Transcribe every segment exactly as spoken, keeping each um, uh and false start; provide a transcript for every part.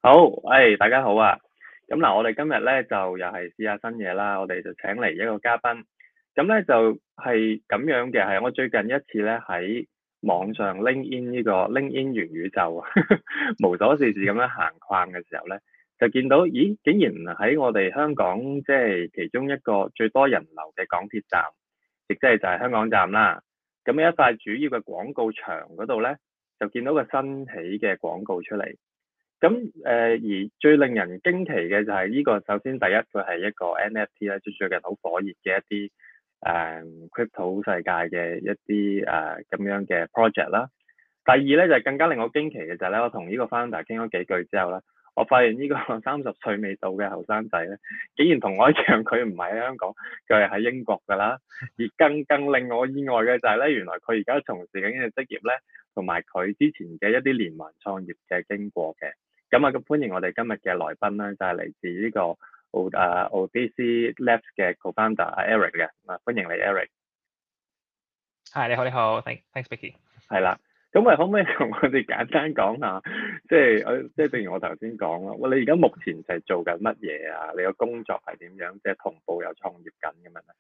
好，誒，大家好啊！咁嗱，我哋今日咧就又係試下新嘢啦，我哋就請嚟一個嘉賓。咁咧就係咁樣嘅，係我最近一次咧喺網上 LinkedIn 呢個 LinkedIn 元宇宙無所事事咁樣行逛嘅時候咧，就見到，咦，竟然喺我哋香港即係其中一個最多人流嘅港鐵站，亦即係就係香港站啦。咁一塊主要嘅廣告牆嗰度咧，就見到個新起嘅廣告出嚟。咁誒、呃，而最令人驚奇嘅就係呢個，首先第一佢係一個 N F T 咧，即最近好火熱嘅一啲誒、呃、crypto 世界嘅一啲誒咁樣嘅 project 啦。第二咧就係、是、更加令我驚奇嘅就係咧，我同呢個 founder 傾咗幾句之後咧，我發現呢個三十歲未到嘅後生仔咧，竟然同我一樣，佢唔係喺香港，佢係喺英國㗎啦。而更更令我意外嘅就係咧，原來佢而家從事緊嘅職業咧，同埋佢之前嘅一啲連環創業嘅經過嘅。咁啊，咁歡迎我哋今日嘅來賓啦，就係、是、嚟自呢個奧誒 Odyssey Labs 嘅 co-founder 阿 Eric 嘅，啊歡迎你 Eric。 係，你好，你好，thanks thanks Vicky。 係啦，咁啊可唔可以同我哋簡單講下，即係我即係正如我頭先講啦，喂，你而家目前就係做緊乜嘢啊？你個工作係點樣？即係同步有創業緊咁樣咧？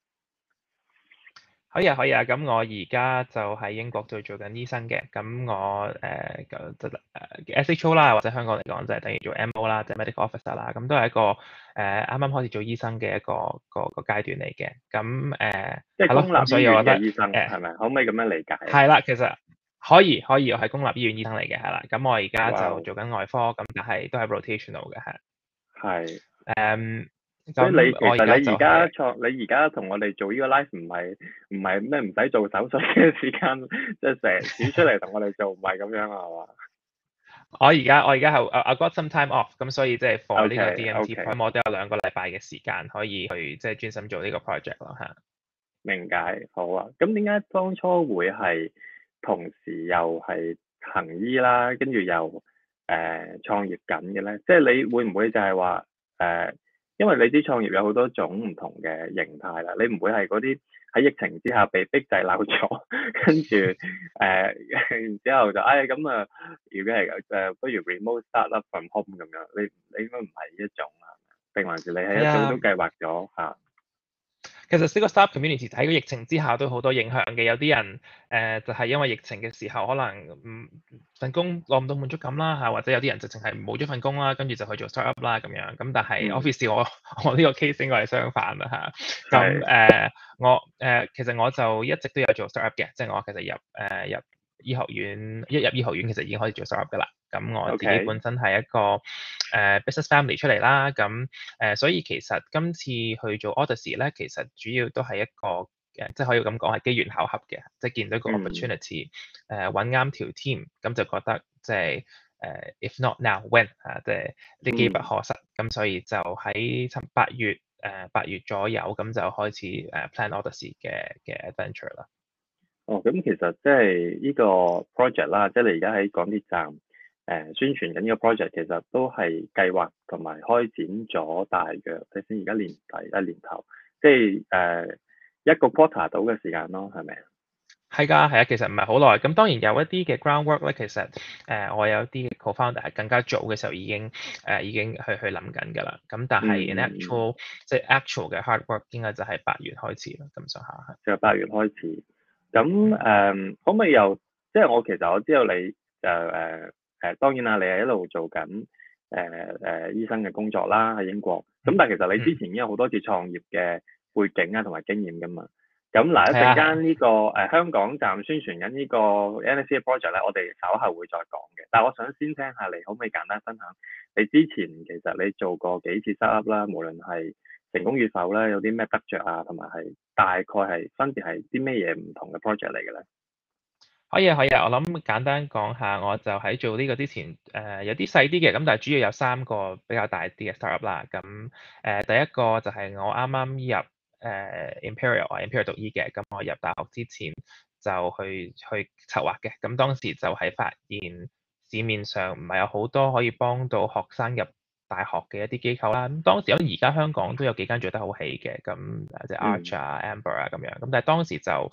可以啊，可以啊。咁我而家就喺英國度做緊醫生嘅。咁我誒就誒 S H O 啦，或者香港嚟講就係等於做 M O 啦，即係 medical officer 啦。咁都係一個誒啱啱開始做醫生嘅一個個個階段嚟嘅。咁誒即係公立醫院嘅醫生誒係咪？可唔可以咁樣理解？ 係啦，其實可以可以，我係公立醫院醫生嚟嘅，係啦。咁我而家就 Wow 做緊外科，咁但係都係 rotational 嘅，係。 係。 誒所以你其實你而家就創，你而家同我哋做呢個 live 唔係唔係咩唔使做手術嘅時間，即係成日指出嚟同我哋做，唔係咁樣啊，係嘛？ 我而家我而家係 I got some time off，咁所以即係 for 呢個 OK D M T，咁 OK， 我都有兩個禮拜嘅時間可以去即係專心做呢個 project 咯嚇。 明解，好啊。咁點解當初會係同時又係行醫啦，跟住又誒、呃、創業緊嘅咧？即係你會唔會就係話誒，因為你啲創業有好多種唔同嘅形態啦，你唔會係嗰啲喺疫情之下被逼滯留咗，跟住誒然之後就誒咁啊，如果係誒、呃、不如 remote start up from home 咁樣，你你應該唔係呢一種啊？定還是你係一早都計劃咗嚇？ 其實呢個 startup community 喺個疫情之下都好多影響嘅，有啲人誒、呃、就係、是、因為疫情嘅時候可能唔份工攞唔到滿足感啦嚇，或者有啲人就淨係冇咗份工啦，跟住就去做 startup 啦咁樣。咁但係 office 我我呢個 case 應該係相反啦嚇。咁誒、呃、我誒、呃、其實我就一直都有做 startup 嘅，即係我其實入誒、呃、入醫學院一入醫學院其實已經可以做 startup 噶啦。咁我自己本身係一個誒、呃、business family 出嚟啦，咁誒、呃、所以其實今次去做 Odyssey 咧，其實主要都係一個誒、呃，即係可以咁講係機緣巧合嘅，即係見到一個 opportunity，誒揾啱條 team，咁就覺得即係誒、呃、if not now when 啊，即係啲機不可失，咁、嗯、所以就喺七八月誒八、呃、月左右，咁就開始誒、呃、plan Odyssey 嘅嘅 adventure 啦。 哦，咁其實即係呢個 project 啦，即係你而家喺港鐵站誒、呃、宣傳緊呢個 project，其實都係計劃同埋開展咗大約睇先，而家年底一年頭，即係誒、呃、一個 quarter 到嘅時間咯，係咪啊？ 係㗎，係啊，其實唔係好耐。咁當然有一啲嘅 groundwork 咧，其實誒、呃、我有啲 co-founder 係更加早嘅時候已經誒、呃、已經去去諗緊㗎啦。咁但係 in actual、嗯、即係 actual 嘅 hard work 應該就係八月開始啦，咁上下。 就八月開始。咁誒、呃，可唔可以又即係我其實我知道你就誒誒，當然啦，你係一路做緊誒誒醫生嘅工作啦，喺英國。咁但係其實你之前已經有好多次創業嘅背景啊，同埋經驗㗎嘛。咁嗱，一陣間呢個誒、呃、香港站宣傳緊呢個 N F T 嘅 project 咧，我哋稍後會再講嘅。但係我想先聽下你，可唔可以簡單分享你之前其實你做過幾次 startup 啦，無論係成功與否咧，有啲咩得着啊，同埋係大概係分別係啲咩嘢唔同嘅 project 嚟嘅咧？ 可以啊，可以啊。我諗簡單講下，我就喺做呢個之前，誒、呃、有啲細啲嘅，咁但係主要有三個比較大啲嘅 startup 啦。咁誒、呃、第一個就係我啱啱入誒、呃、Imperial 啊，Imperial 讀醫嘅，咁我入大學之前就去去策劃嘅。咁當時就係發現市面上唔係有好多可以幫到學生入大學嘅一啲機構啦。咁當時咁而家香港都有幾間做得好起嘅，咁即係 Arch 啊、Amber 啊咁樣。咁但係當時就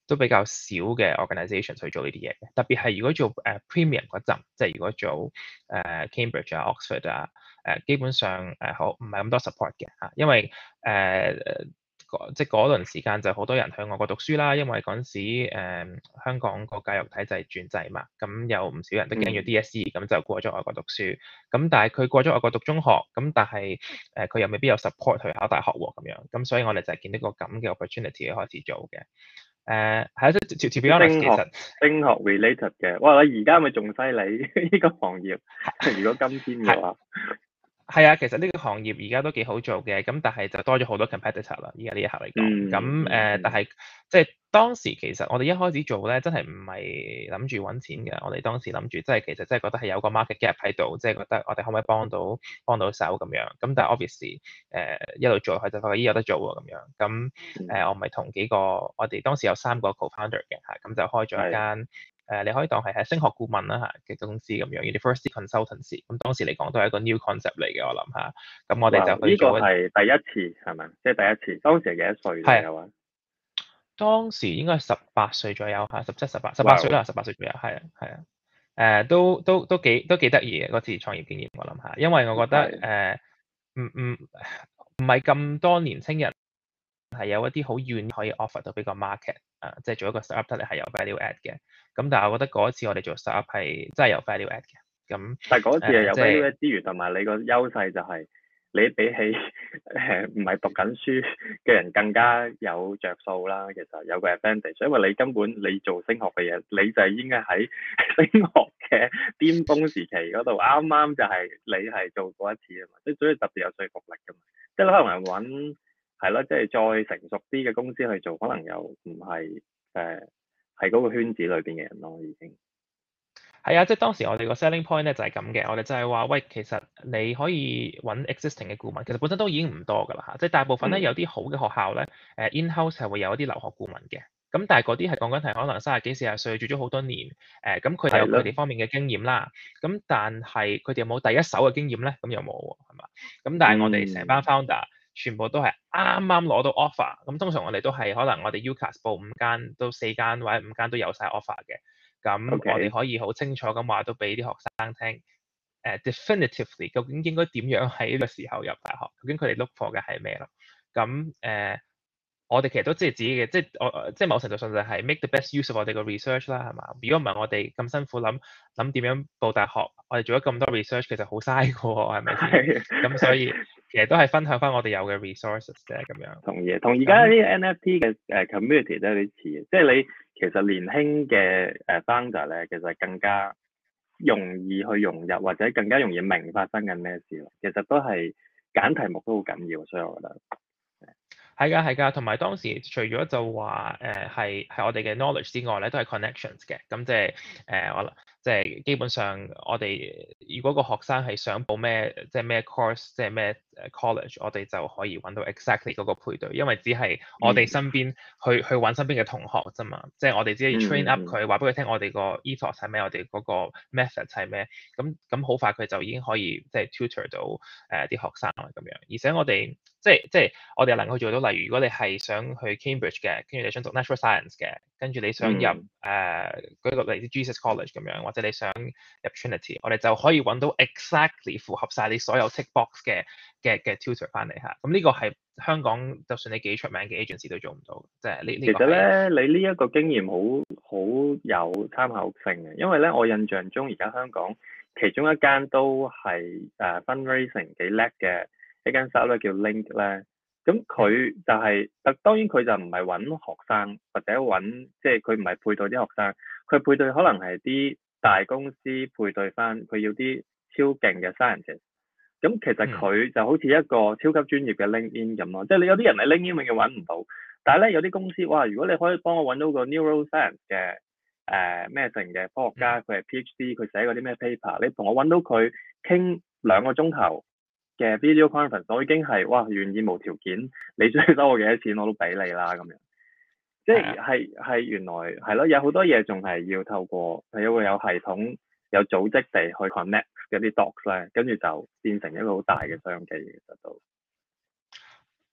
都比較少嘅 organisation 去做呢啲嘢嘅。特別係如果做誒、uh, premium 嗰陣，即係如果做誒、uh, Cambridge 啊、Oxford 啊，誒、uh, 基本上誒好唔係咁多 support 嘅嚇，因為誒。Uh, 即係嗰輪時間就好多人去外國讀書啦，因為嗰陣時誒、嗯、香港個教育體制轉制嘛，咁有唔少人都驚咗 D S E，咁就過咗外國讀書。咁但係佢過咗外國讀中學，咁但係誒佢又未必有 support 去考大學喎，咁樣。咁所以我哋就係見到個咁嘅 opportunity 開始做嘅。誒係啊，即係 to be honest 其實升學 related 嘅，哇！你而家咪仲犀利呢個行業，如果今天嘅話。 係啊，其實呢個行業而家都幾好做嘅，咁但係就多咗好多 competitor 啦。而家呢一刻嚟講，咁誒、嗯，但係即係當時其實我哋一開始做咧，真係唔係諗住揾錢嘅。我哋當時諗住，即係其實真係覺得係有個 market gap 喺度，即係覺得我哋可唔可以幫到幫到手咁樣。咁但係 obviously 誒、呃、一路做佢就發覺咦有得做喎咁樣。咁誒、呃、我咪同幾個我哋當時有三個 co-founder 嘅嚇，咁就開咗一間。誒、呃，你可以當係係升學顧問啦嚇嘅公司咁樣 University Consultancy。咁當時嚟講都係一個 new concept 嚟嘅，我諗下。咁我哋就去做。 呢個係第一次係咪？即係第一次。當時係幾多歲左右啊？ 當時應該係十八歲左右嚇，十七、十八、十八歲啦，十八歲左右，係啊，係啊。誒、呃，都都都幾都幾得意嘅嗰次創業經驗，我諗下，因為我覺得誒，唔唔唔係咁多年青人係有一啲好遠可以 offer 到俾個 market 啊、呃，即係做一個 startup 得嚟係有 value add 嘅。咁但係我覺得嗰一次我哋做 startup 係真係有 value add 嘅。咁但係嗰次係有 value add 之餘，同、 呃、 埋、就是、你個優勢就係你比起誒唔係讀緊書嘅人更加有着數啦。其實有個 advantage，因為你根本你做升學嘅嘢，你就係應該喺升學嘅巔峰時期嗰度，啱啱就係你係做過一次啊嘛，即係所以特別有說服力㗎嘛。即係你可能係揾係咯，即係再成熟啲嘅公司去做，可能又唔係誒係嗰個圈子裏邊嘅人咯，已經。 係啊，即係當時我哋個 selling point 咧就係咁嘅，我哋就係話，喂，其實你可以揾 existing 嘅顧問，其實本身都已經唔多㗎啦嚇，即係大部分咧有啲好嘅學校咧，誒 in-house 係會有一啲留學顧問嘅，咁但係嗰啲係講緊係可能三十幾四十歲做咗好多年，誒咁佢哋有佢哋方面嘅經驗啦，咁但係佢哋有冇第一手嘅經驗咧？咁又冇喎，係嘛？咁但係我哋成班 founder 全部都係啱啱攞到 offer，咁通常我哋都係可能我哋 UCAS 報五間到四間或者五間都有晒 offer 嘅。咁我哋可以好清楚咁話都俾啲學生聽，誒、uh, definitively 究竟應該點樣喺呢個時候入大學？究竟佢哋 look for 嘅係咩咯？咁誒、uh, 我哋其實都知係自己嘅，即係我即係某程度上就係 make the best use of 我哋個 research 啦，係嘛？如果唔係我哋咁辛苦諗諗點樣報大學，我哋做咗咁多 research，其實好嘥嘅喎，係咪先？咁所以其實都係分享翻我哋有嘅 resources 啫，咁樣。 同意，同而家啲 N F T 嘅誒 community 都有啲似嘅，即係你其實年輕嘅誒 founder 咧，其實更加容易去融入，或者更加容易明發生緊咩事咯。其實都係揀題目都好緊要，所以我覺得。 係㗎，係㗎，同埋當時除咗就話誒係係我哋嘅 knowledge 之外咧，都係 connections 嘅。咁即係誒我即係基本上我哋如果個學生係想報咩即係咩 course，即係咩誒 college，我哋就可以揾到 exactly 嗰個配對，因為只係我哋身邊去、嗯、去揾身邊嘅同學啫嘛。即係我哋只係 train up 佢，話俾佢聽我哋個 ethos 係咩，我哋嗰個 method 係咩。咁咁好快佢就已經可以即係 tutor 到誒啲、呃、學生啦咁樣。而且我哋即係即係我哋能夠做到，例如如果你係想去 Cambridge 嘅，跟住你想讀 Natural Science 嘅，跟住你想入誒舉、嗯呃、個例子 Jesus College 咁樣，或者你想入 Trinity，我哋就可以揾到 exactly 符合晒你所有 tick box 嘅嘅嘅 tutor 翻嚟嚇。咁呢個係香港就算你幾出名嘅 agency 都做唔到，即係呢呢個。其實咧，你呢一個經驗好好有參考性嘅，因為咧我印象中而家香港其中一間都係誒 fundraising 幾叻嘅。一間 startup 叫 Link 咧，咁佢就係、是，特當然佢就唔係揾學生或者揾，即係佢唔係配對啲學生，佢配對可能係啲大公司配對翻，佢要啲超勁嘅 scientist。咁其實佢就好似一個超級專業嘅 LinkedIn 咁咯，即係你有啲人喺 LinkedIn 永遠揾唔到，但係咧有啲公司，哇！如果你可以幫我揾到個 neuroscience 嘅誒咩成嘅科學家，佢係 PhD，佢寫嗰啲咩 paper，你同我揾到佢傾兩個鐘頭嘅 video conference，我已經係哇願意無條件，你想收我幾多錢我都俾你啦咁樣，即係係係原來係咯，有好多嘢仲係要透過係一個有系統、有組織地去 connect 嗰啲 docs 咧，跟住就變成一個好大嘅商機其實都。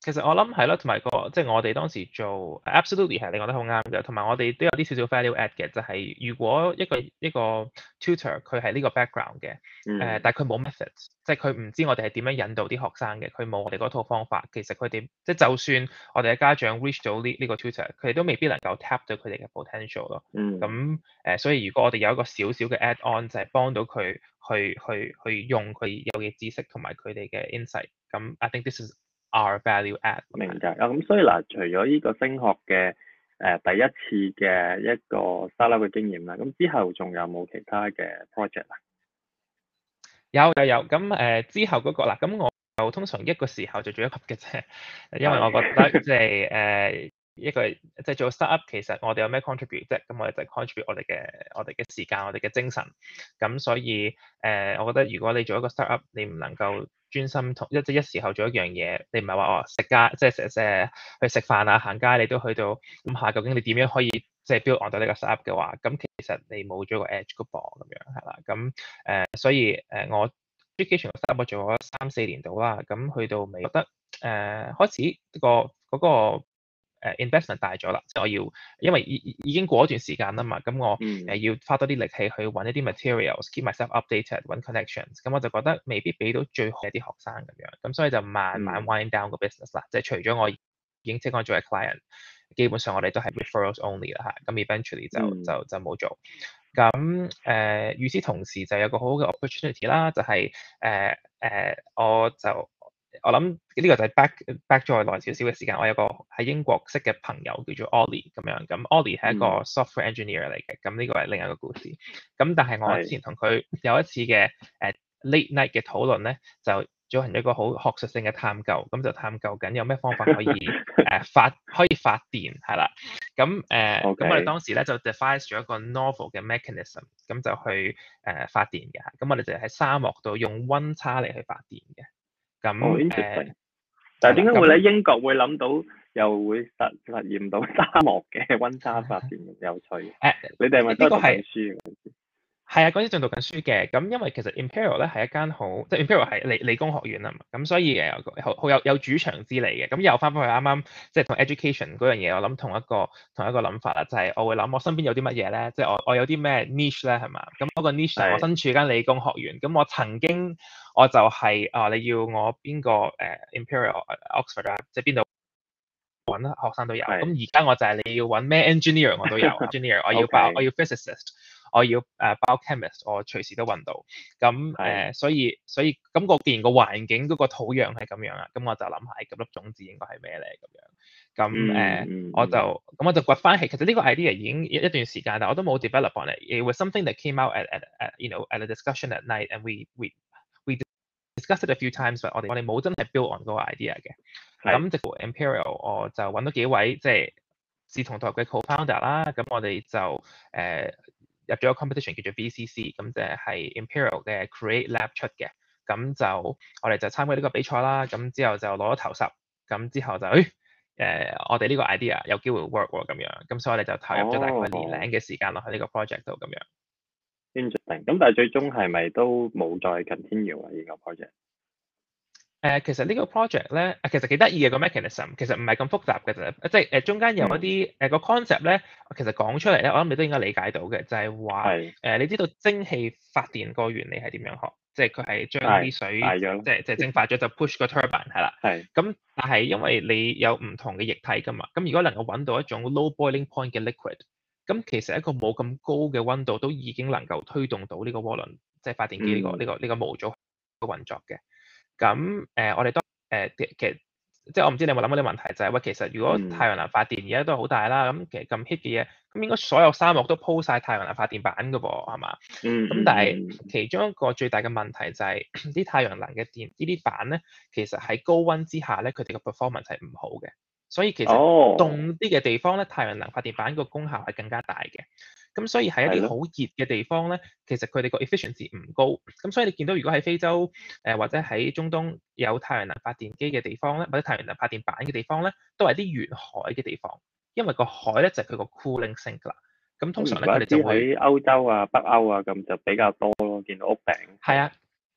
其實我諗係咯，同埋個即係我哋當時做 absolutely 係你講得好啱嘅，同埋我哋都有啲少少 value add 嘅，就係、是、如果一個一個 tutor 佢係呢個 background 嘅，誒、 嗯呃，但係佢冇 methods，即係佢唔知我哋係點樣引導啲學生嘅，佢冇我哋嗰套方法，其實佢哋即係就算我哋嘅家長 reach 到呢呢個 tutor，佢哋都未必能夠 tap 到佢哋嘅 potential 咯。 嗯。 咁誒、呃，所以如果我哋有一個少少嘅 add on，就係幫到佢去去去用佢有嘅知識同埋佢哋嘅 insight，咁 I think this is our value add。 明白啊，咁所以嗱，除咗呢個升學嘅誒、呃、第一次嘅一個 startup 嘅經驗啦，咁之後仲有冇其他嘅 project 啊？ 有有有，咁誒、呃、之後嗰、那個啦，咁我就通常一個時候就做一級嘅啫，因為我覺得即係誒一個即係、就是、做 startup 其實我哋有咩 contribute 啫，咁我哋就 contribute 我哋嘅我哋嘅時間，我哋嘅精神，咁所以誒、呃、我覺得如果你做一個 startup，你唔能夠專心同一即係一時候做一樣嘢，你唔係話哦食街，即係食食去食飯啊行街，你都去到諗下究竟你點樣可以即係 build on 到呢個 startup 嘅話，咁其實你冇咗個 edge 個噃咁樣係啦，咁誒、呃、所以誒、呃、我 education 個 startup 我做咗三四年度啦，咁去到尾覺得誒、呃、開始、這個嗰、那個誒、呃、investment 大咗啦，即係我要因為已已經過一段時間啦嘛，咁我誒要花多啲力氣去揾一啲 materials，keep myself updated，揾 connections，咁我就覺得未必俾到最好嘅啲學生咁樣，咁所以就慢慢 wind down 個 business 啦，即係除咗我已經 take on 做嘅 client，基本上我哋都係 referrals only 啦嚇，咁 eventually 就就就冇做。咁誒，與此同時就有個好好嘅 opportunity 啦，就係誒誒，我就我諗呢個就係 back back 再耐少少嘅時間，我有個喺英國識嘅朋友叫做 Ollie 咁樣，咁 Ollie 係一個 software engineer 嚟嘅，咁呢個係另一個故事。咁但係我之前同佢有一次嘅誒 late night 嘅討論咧，就進行一個好學術性嘅探究，咁就探究緊有咩方法可以誒、呃、發可以發電係啦。咁誒，咁、呃 Okay. 我哋當時咧就 devise 咗一個 novel 嘅 mechanism，咁就去誒、呃、發電嘅。咁我哋就喺沙漠度用溫差嚟去發電嘅。咁誒， 哦 interesting。但係點解會喺英國會諗到又會實實驗到沙漠嘅溫差發電？有趣。誒、呃，你哋係咪都係讀緊書嘅？ 係啊，嗰陣仲讀緊書嘅，咁因為其實 Imperial 咧係一間好，即係 Imperial 係理理工學院啊嘛，咁所以誒好好有有主場之利嘅。咁又翻返去啱啱即係同 education 嗰樣嘢，我諗同一個同一個諗法啦，就係、是、我會諗我身邊有啲乜嘢咧，即係我我有啲咩 niche 咧係嘛？咁嗰個 niche 就係我身處間理工學院，咁我曾經我就係、是、啊，你要我邊個誒 Imperial Oxford 啊，即係邊度揾學生都有。咁而家我就係你要揾咩 engineer 我都有，engineer 我要包我要 physicist。我要誒 biochemist，我隨時都揾到。咁誒、呃，所以所以咁個既然個環境嗰個土壤係咁樣啊，咁我就諗下，咁粒種子應該係咩咧？咁樣咁誒，呃 mm hmm. 我就咁我就掘翻起。其實呢個 idea 已經一段時間，但我都冇 develop on it。It was something that came out at at at you know at a discussion at night and we we we discussed it a few times，但我哋我哋冇真係 build on 嗰個 idea 嘅。咁直到 Imperial，我就揾到幾位即係志同道合嘅 co-founder 啦。咁我哋就誒。呃入咗個 competition 叫做 V C C，咁就係 Imperial 嘅 Create Lab 出嘅，咁就我哋就參加呢個比賽啦，咁之後就攞咗頭十，咁之後就誒、呃、我哋呢個 idea 有機會 work 喎咁樣，咁所以我哋就投入咗大概年零嘅時間落去呢個 project 度咁樣。 Interesting，咁但係最終係咪都冇再 continue 啊？呢個 project？ 誒、呃，其實呢個 project 咧，其實幾得意嘅個 mechanism，其實唔係咁複雜嘅啫，即係誒中間有一啲誒、嗯、個 concept 咧，其實講出嚟咧，我諗你都應該理解到嘅，就係話誒，你知道蒸汽發電個原理係點樣學？即係佢係將啲水即係即係蒸發咗就 push 個 turbine 係啦。係是。咁但係因為你有唔同嘅液體㗎嘛，咁如果能夠揾到一種 low boiling point 嘅 liquid，咁其實一個冇咁高嘅溫度都已經能夠推動到呢個渦輪，即係發電機呢、這個呢、嗯這個呢、這個模組運作嘅。咁誒、呃，我哋都誒其實即係我唔知你有冇諗過啲問題，就係、是、喂，其實如果太陽能發電而家都係好大啦，咁其實咁 hit 嘅嘢，咁應該所有沙漠都鋪晒太陽能發電板㗎噃，係嘛？嗯。咁但係其中一個最大嘅問題就係、是、啲太陽能嘅電呢啲板咧，其實喺高溫之下咧，佢哋嘅 performance 係唔好嘅，所以其實凍啲嘅地方咧，太陽能發電板個功效係更加大嘅。咁所以喺一啲好熱嘅地方咧，其實佢哋個 efficiency 唔高。咁所以你見到如果喺非洲誒、呃、或者喺中東有太陽能發電機嘅地方咧，或者太陽能發電板嘅地方咧，都係啲沿海嘅地方，因為個海咧就係佢個 cooling sink 啦。咁通常咧佢哋就會喺歐洲啊、北歐啊咁就比較多咯，見到屋頂。 係啊。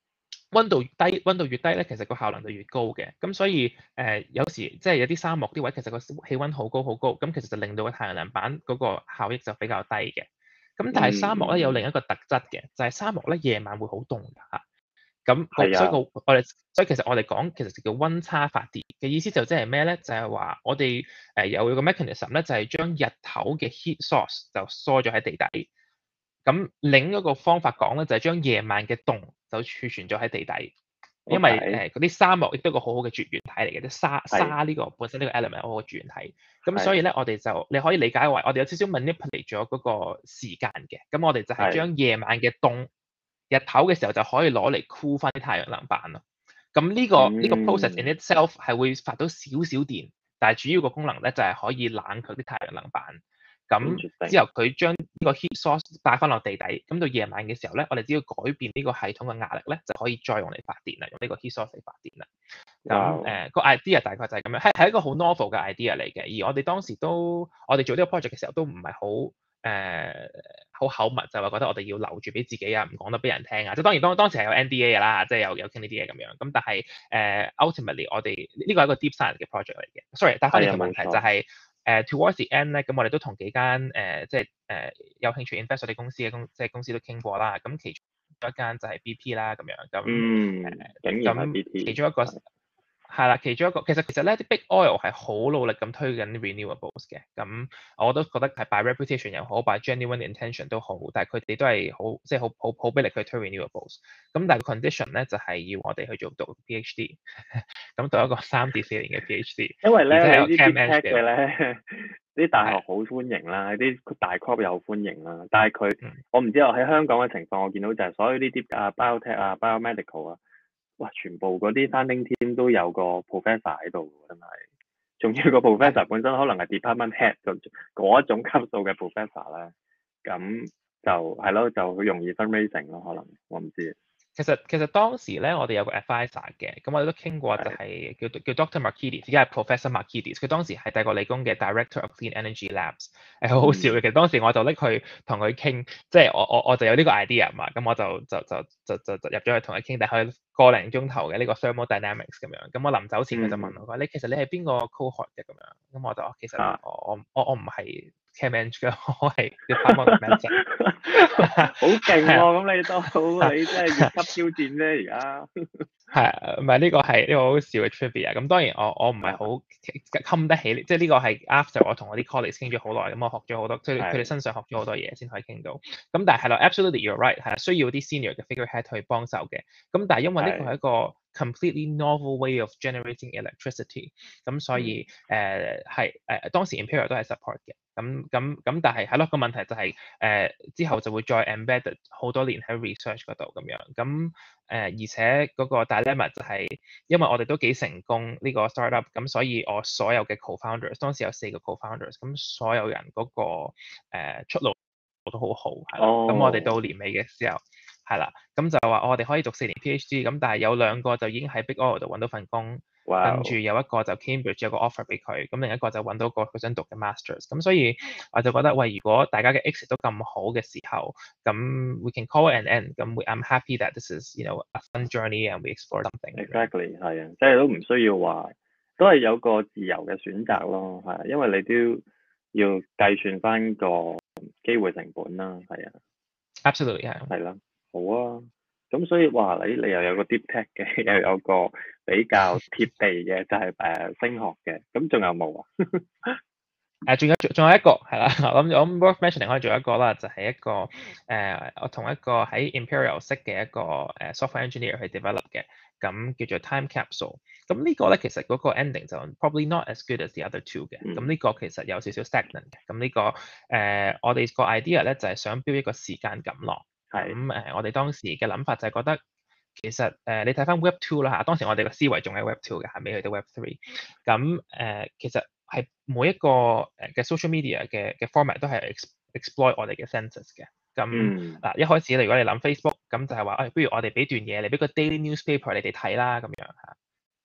溫度越低，溫度越低咧，其實個效能就越高嘅。咁所以誒、呃，有時即係有啲沙漠啲位，其實個氣溫好高好高，咁其實就令到個太陽能板嗰個效益就比較低嘅。咁但係沙漠咧有另一個特質嘅，就係、是、沙漠咧夜晚會好凍㗎嚇。咁個所以個我哋所以其實我哋講其實就叫溫差發電嘅意思就即係咩咧？就係、是、話我哋誒有個 mechanism 咧，就係將日頭嘅 heat source 就疏咗喺地底。咁另一個方法講咧，就係將夜晚嘅凍就儲存咗喺地底，因為誒嗰啲沙漠亦都係個好好嘅絕緣體嚟嘅，即係沙沙呢個本身呢個 element 好好嘅絕緣體。咁所以咧，我哋就你可以理解為我哋有少少 manipulate 咗嗰個時間嘅。咁我哋就係將夜晚嘅凍，日頭嘅時候就可以攞嚟 cool 翻啲太陽能板咯。咁呢、這個呢、嗯、個 process in itself 係會發到少少電，但係主要個功能咧就係、是、可以冷卻啲太陽能板。咁之後佢將呢個 heat source 帶翻落地底，咁到夜晚嘅時候咧，我哋只要改變呢個系統嘅壓力咧，就可以再用嚟發電啦，用呢個 heat source 嚟發電啦。咁誒個 idea 大概就係咁樣，係係一個好 novel 嘅 idea 嚟嘅。而我哋當時都，我哋做呢個 project 嘅時候都唔係好誒好口密，就話覺得我哋要留住俾自己啊，唔講得俾人聽啊。即係當然當當時係有 N D A 嘅啦，即係有有傾呢啲嘢咁樣。咁但係誒、呃、ultimately 我哋呢個係一個 deep science 嘅 project 嚟嘅。Sorry，答翻你個問題就係、是。誒、uh, towards the end 咧，咁我哋都同幾間誒、呃，即係誒、呃、有興趣 invest 我哋公司嘅公，即係公司都傾過啦。咁其中一間就係 B P 啦，咁樣咁誒，咁其中一個係啦，其中一個其實其實咧啲 Big Oil 係好努力咁推緊 renewables 嘅。咁我都覺得係 by reputation 又好 by genuine intention 都好，但係佢哋都係好即係好好好俾力去推 renewables。咁但係 condition 咧就係、是、要我哋去做讀 PhD， 咁讀一個三至四年嘅 PhD。 因為咧你啲 deep tech 嘅咧，啲大學好歡迎啦，啲大 corp 又好歡迎啦。但係佢、嗯、我唔知我喺香港嘅情況，我見到就係所有呢啲啊 biotech 啊 biomedical 啊。哇！全部嗰啲 founding team 都有個 professor 喺度，真係。仲要個 professor 本身可能係 department head 嗰一種級數嘅 professor 咧，咁就係咯，就好容易 fundraising 咯，可能我唔知。 其實其實當時咧，我哋有個 advisor 嘅，咁我哋都傾過，就係叫叫 Doctor Markides，而家係 Professor Markides。佢當時係帝國理工嘅 Director of Clean Energy Labs，係好好笑嘅。其實當時我就拎佢同佢傾，即係我我我就有呢個 idea 嘛，咁我就就就就就就入咗去同佢傾，但係個零鐘頭嘅呢個 thermodynamics 咁樣。咁我臨走前佢就問我，佢話你其實你係邊個 cohort 嘅咁樣？咁我就其實我我我我唔係 chem eng 嘅，我係 department of medicine。好勁喎！咁你都你真係越級挑戰啫，而家係唔係呢個係呢個好笑嘅 trivia？咁當然我我唔係好冚得起，即係呢個係 after 我同我啲 colleagues 傾咗好耐，咁我學咗好多，即係佢哋身上學咗好多嘢先可以傾到。咁但係係啦 ，absolutely you're right，係需要啲 senior 嘅 figurehead 去幫手嘅。咁但係因為呢個係一個 completely novel way of generating electricity，咁所以誒係誒當時 Imperial 都係 support 嘅。咁咁咁，但係係咯，個問題就係、是、誒、呃、之後就會再 embedded 好多年喺 research 嗰度咁樣。咁誒、呃、而且嗰個 dilemma 就係因為我哋都幾成功呢個 startup，咁所以我所有嘅 co-founders 當時有四個 co-founders，咁所有人嗰、那個、呃、出路都好好係啦。咁、oh. 我哋到年尾嘅時候係啦，咁就話我哋可以讀四年 PhD，咁但係有兩個就已經喺 Big Oil 度揾到份工。Wow. 跟住有一個就 Cambridge 有個 offer 俾佢，咁另一個就揾到個佢想讀嘅 masters，咁所以我就覺得喂，如果大家嘅 exit 都咁好嘅時候，咁 we can call it an end，咁 I'm happy that this is you know a fun journey and we explore something。 Exactly 係啊，即係都唔需要話，都係有個自由嘅選擇咯，係啊，因為你都要計算翻個機會成本啦，係啊。 Absolutely 係。 係啦，好啊。咁所以話你你又有個 deep tech 嘅，又有個比較貼地嘅，就係、是、誒、呃、聲學嘅。咁仲有冇啊？ 誒，仲有仲有一個係啦，我諗我諗 worth mentioning 可以做一個啦，就係、是、一個誒、呃，我同一個喺 Imperial 識嘅一個誒 software engineer 去 develop 嘅，咁叫做 time capsule。咁呢個咧其實嗰個 ending 就 probably not as good as the other two 嘅。咁呢、嗯、個其實有少少 stagnant 嘅。咁呢、這個誒、呃，我哋個 idea 咧就係、是、想標一個時間感落。係咁誒，我哋當時嘅諗法就係覺得，其實誒、呃，你睇翻 Web Two 啦嚇，當時我哋個思維仲係 Web Two 嘅，係未去到 Web Three。咁誒、呃，其實係每一個誒嘅 social media 嘅嘅 format 都係 exploit 我哋嘅 senses 嘅。咁嗱、嗯啊，一開始如果你諗 Facebook，咁就係話，誒、哎，不如我哋俾段嘢，你俾個 daily newspaper 你哋睇啦，咁樣嚇。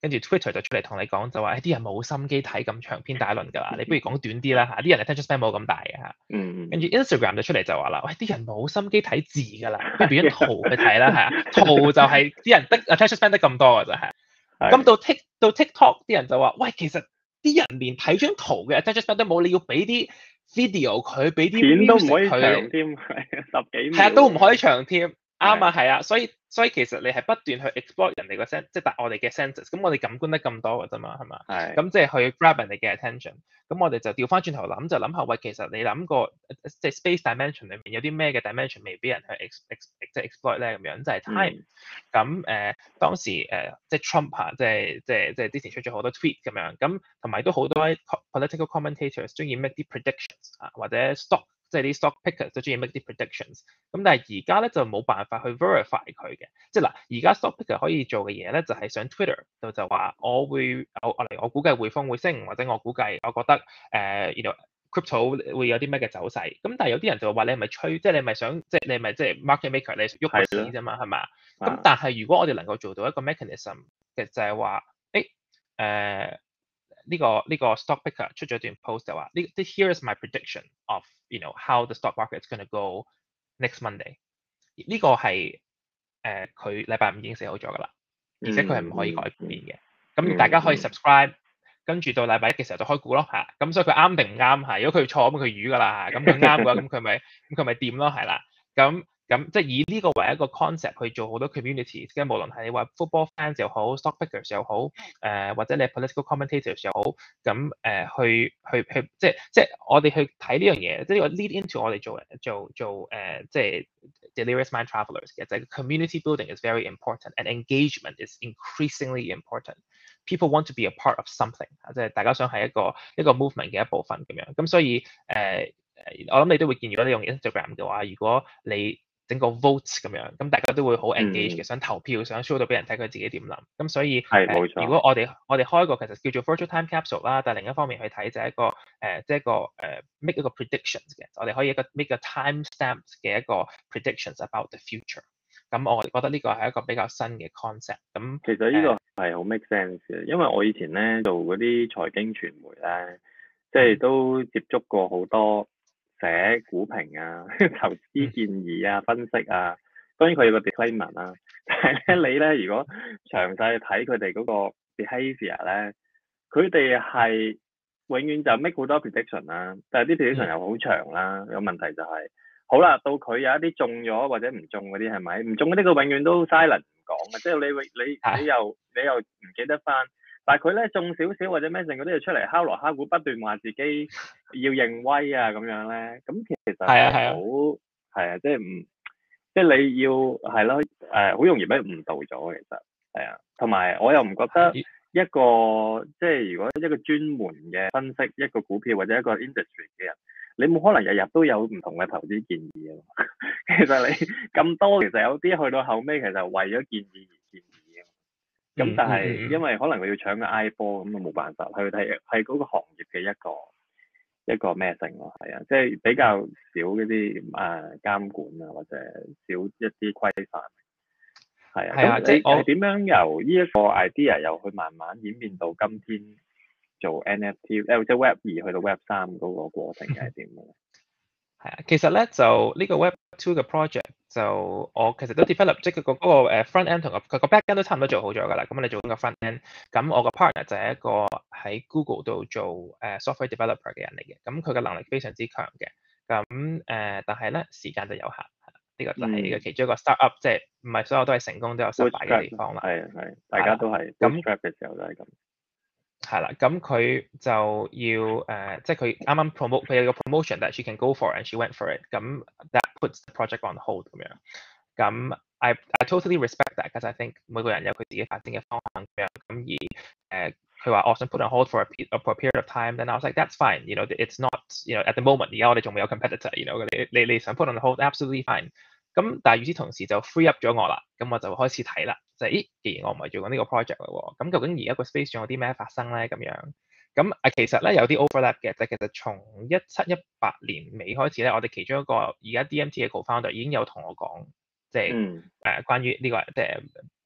跟住 Twitter 就出嚟同你講就話，誒啲人冇心機睇咁長篇大論㗎啦，你不如講短啲啦嚇，啲人 attention span 冇咁大嘅嚇。 嗯跟住 Instagram 就出嚟就話啦，喂啲人冇心機睇字㗎啦，不如俾張圖去睇啦，係啊，圖就係啲人得 attention span 得咁多㗎咋係。咁到 Tik 到 TikTok 啲人就話，喂其實啲人連睇張圖嘅 attention span 都冇，你要俾啲 video 佢，俾啲片都唔可以長佢， 添，十幾秒。 係啊，都唔可以長添。啱啊，係啊，所以所以其實你係不斷去 exploit 人哋個 sense，即係我哋嘅 senses，咁我哋感官得咁多㗎啫嘛，係嘛？ 係。 咁即係去 grab 人哋嘅 attention，咁我哋就調翻轉頭諗，就諗下喂，其實你諗過即係 space dimension 裏面有啲咩嘅 dimension 未俾人去 ex ex 即係 exploit 咧咁樣，就係 time。咁誒當時誒即係 Trump 啊，即係即係即係之前出咗好多 tweet 咁樣，咁同埋都好多 political commentators 中意 make 啲 predictions 啊，或者 stock。即係啲 stock pickers 都中意 make 啲 predictions，咁但係而家咧就冇辦法去 verify 佢嘅，即係嗱而家 stock picker 可以做嘅嘢咧就係、是、上 Twitter 度就話我會我我嚟我估計匯豐會升，或者我估計我覺得誒 you know crypto 會有啲咩嘅走勢，咁但係有啲人就話你係咪吹，即係你係咪想即係你係咪即係 market maker 你喐個市啫嘛係嘛？咁但係如果我哋能夠做到一個 mechanism 嘅就係話誒誒。呢、這個呢、這個 stock picker 出咗段 post 就話呢啲 here is my prediction of you know how the stock market is going to go next Monday。呢個係誒佢禮拜五已經寫好咗㗎啦，而且佢係唔可以改變嘅。咁、嗯、大家可以 subscribe，跟住到禮拜一嘅時候就開估咯嚇。咁所以佢啱定唔啱係？如果佢錯咁佢魚㗎啦嚇。咁佢啱嘅話咁佢咪咁佢咪掂咯係啦。咁咁即係以呢個為一個 concept 去做好多 communities，即係無論係你話 football fans 又好 stock pickers 又好，誒、呃、或者你 political commentators 又好，咁誒、呃、去去去即係即係我哋去睇呢樣嘢，即係呢個 lead into 我哋做做做誒、呃、即係 delirious mind travelers 嘅，就係 community building is very important and engagement is increasingly important. People want to be a part of something， 即係大家想係一個一個 movement 嘅一部分咁樣，咁所以誒。呃我諗你都會見，如果你用 Instagram 嘅話，如果你整個 vote 咁樣，咁大家都會好 engage 嘅，想投票，想 show 到俾人睇佢自己點諗。咁所以係冇錯。如果我哋我哋開一個其實叫做 virtual time capsule 啦，但係另一方面去睇就係一個誒，即係一個誒 make 一個 predictions 嘅，我哋可以一個 make 個 time stamp 嘅一個 predictions about the future。咁我覺得呢個係一個比較新嘅 concept。咁其實呢個係好 make sense 嘅，因為我以前咧做嗰啲財經傳媒咧，即係都接觸過好多。寫股評啊、投資建議啊、分析啊，當然佢有個 disclaimer 啦。但係咧，你咧如果詳細睇佢哋嗰個 behaviour 咧，佢哋係永遠就 make 好多 prediction 啦，但係啲 prediction 又好長啦。有問題就係、是，好啦，到佢有一啲中咗或者唔中嗰啲係咪？唔中嗰啲佢永遠都 silent 唔講嘅，即係你你你，你又你又唔記得翻。但係佢咧中少少或者咩剩嗰啲就出嚟敲鑼敲鼓，不斷話自己要認威啊咁樣咧，咁其實係好係啊，即係唔即係你要係咯誒，好容易俾誤導咗其實係啊，同埋我又唔覺得一個即係如果一個專門嘅分析一個股票或者一個 industry 嘅人，你冇可能日日都有唔同嘅投資建議啊。其實你咁多，其實有啲去到後尾其實為咗建議而建議。咁但係因為可能佢要搶個 I 波，咁啊冇辦法去睇係嗰個行業嘅一個一個咩性咯，係啊，即係比較少嗰啲誒監管啊，或者少一啲規範。係啊，咁你係點樣由呢一個 idea 又去慢慢演變到今天做 N F T，誒即係 Web 二去到 Web 三嗰個過程係點嘅？ 係啊，其實咧就呢個 Web Two 嘅 project 就我其實都 develop 即係佢個嗰個 front end 同個佢個 back end 都差唔多做好咗㗎啦。咁你做緊個 front end，咁我個 partner 就係一個喺 Google 度做誒 software developer 嘅人嚟嘅。咁佢嘅能力非常之強嘅。咁誒、呃，但係咧時間就有限。呢、這個就係呢個其中一個 startup，即係唔係所有都係成功都有失敗嘅地方啦。係係，大家都係 bootstrap 嘅時候都係咁。係啦，咁佢就要誒、呃，即係佢啱啱 promote，佢有個 promotion that she can go for and she went for it。咁 that puts the project on hold 咁樣。咁 I I totally respect that，because I think 每個人有佢自己發展嘅方向咁樣。咁而誒，佢話我想 put on hold for a, for a period of time，then I was like that's fine，you know，it's not，you know at the moment，而家我哋仲未有 competitor，you know，你你你想 put on hold，absolutely fine。咁但係與此同時就 free up 咗我啦，咁我就開始睇啦，就係、是、咦，既然我唔係做緊呢個 project 啦喎，咁究竟而家個 space 仲有啲咩發生咧？咁樣，咁啊其實咧有啲 overlap 嘅，就係、其實從一七一八年尾開始咧，我哋其中一個而家 D M T 嘅 co-founder 已經有同我講，即係誒關於呢、這個即係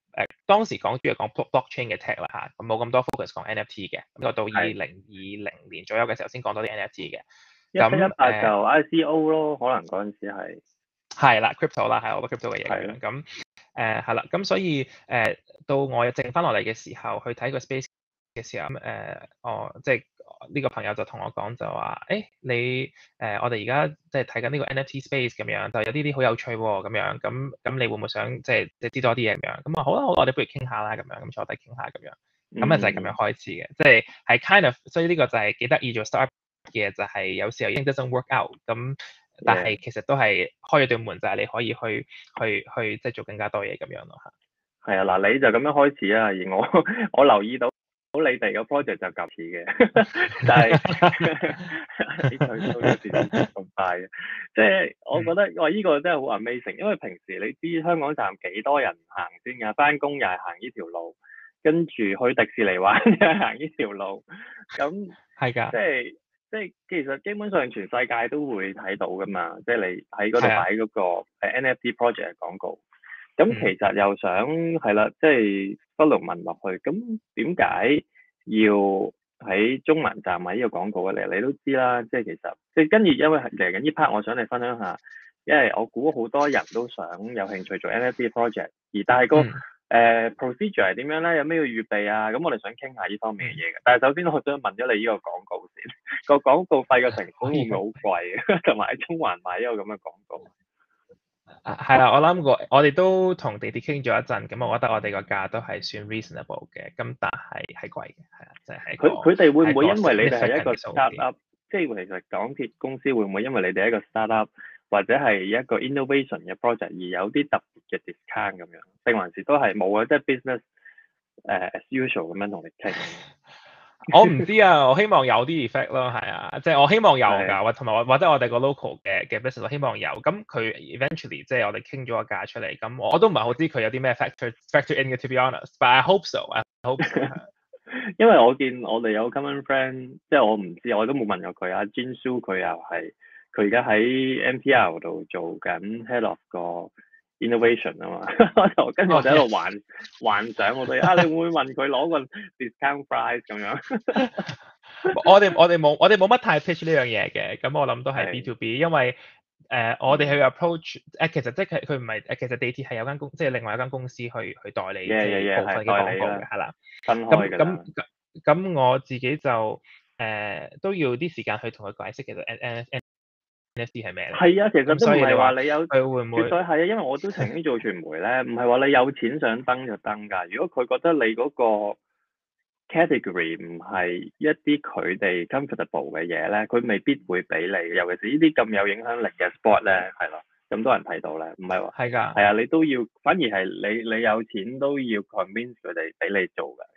誒當時講主要講 blockchain 嘅 tech 啦嚇，咁冇咁多 focus 講 N F T 嘅，咁到二零二零年左右嘅時候先講多啲 N F T 嘅。 一七一八就 I C O 咯，可能嗰陣時係係啦 crypto 啦，係我覺得 crypto 嘅嘢咁樣。 係咁誒係啦，咁所以誒、呃、到我剩翻落嚟嘅時候，去睇個 space 嘅時候，咁、呃、誒我即係呢個朋友就同我講就話，誒、欸、你誒、呃、我哋而家即係睇緊呢個 N F T space 咁樣，就有啲啲好有趣喎咁樣，咁咁你會唔會想即係即係知多啲嘢咁樣？咁啊好啦，好我哋不如傾下啦咁樣，咁坐低傾下咁樣，咁啊就係咁樣開始嘅，即係係 kind of，所以呢個就係幾得意做 startup 嘅，就係有時候已經 doesn't work out 咁。但係其實都係開咗對門，就係你可以去去去即係做更加多嘢咁樣咯嚇。 係啊，嗱你就咁樣開始啊，而我我留意到你哋個 project 就夾似嘅，但係你去到有時咁快嘅，即係我覺得哇，依個真係好 amazing，因為平時你知香港站幾多人行先㗎，翻工又係行呢條路，跟住去迪士尼玩又係行呢條路，咁係㗎， 即係。即係其實基本上全世界都會睇到噶嘛，即係你喺嗰度擺嗰個誒 N F T project 嘅廣告。咁其實又想係啦，即係不勞問落去，咁點解要喺中環站買呢個廣告嘅？你都知啦，即係其實即係跟住，因為嚟緊呢 part，我想你分享下，因為我估好多人都想有興趣做 N F T project，而但係個。嗯誒、uh, procedure 係點樣咧？有咩要預備啊？咁我哋想傾下呢方面嘅嘢嘅。但係首先我想問咗你呢個廣告先，個廣告費嘅成本會唔會好貴？同埋喺中環買一個咁嘅廣告。 啊，係啦，我諗過，我哋都同地鐵傾咗一陣，咁我覺得我哋個價都係算 reasonable 嘅，咁但係係貴嘅，係啊，即係佢佢哋會唔會因為你哋係一個 startup，即係其實港鐵公司會唔會因為你哋係一個 startup？或者係一個 innovation 嘅 project 而有啲特別嘅 discount 咁樣，定還是都係冇啊？即係 business 誒、uh, as usual 咁樣同你傾。 我唔知啊，我希望有啲 effect 咯，係啊，即係我希望有㗎，或同埋或者我哋個 local 嘅嘅 business 我希望有。咁佢 eventually 即係我哋傾咗個價出嚟，咁我都唔係好知佢有啲咩 factor factor in 嘅 to be honest，but I hope so，I hope so。 因為我見我哋有 common friend，即係我唔知，我都冇問過佢啊。Jin Su 佢又係。佢而家喺 M T R 度做緊 head of 個 innovation 啊嘛，就跟住我就喺度幻、oh, yes. 幻想我哋啊，你會唔會問佢攞個 discount price 咁樣？ 我哋我哋冇我哋冇乜太 pitch 呢樣嘢嘅，咁我諗都係 B to B，因為誒、呃、我哋去 approach 誒、呃、其實即係佢唔係誒其實地鐵係有間公即係另外一間公司去去代理嘅即係部分嘅廣告嘅係啦， 分開㗎啦。 咁咁咁我自己就誒、呃、都要啲時間去同佢解釋其實 N N N N F T 係咩？ 係啊，其實都唔係話你有佢會唔會？ 絕對係啊，因為我都曾經做傳媒咧，唔係話你有錢想登就登㗎。如果佢覺得你嗰個 category 唔係一啲佢哋 comfortable 嘅嘢咧，佢未必會俾你。尤其是呢啲咁有影響力嘅 sport 咧，係咯，咁多人睇到咧，唔係話係㗎， 係啊，你都要，反而係你你有錢都要 convince 佢哋俾你做㗎。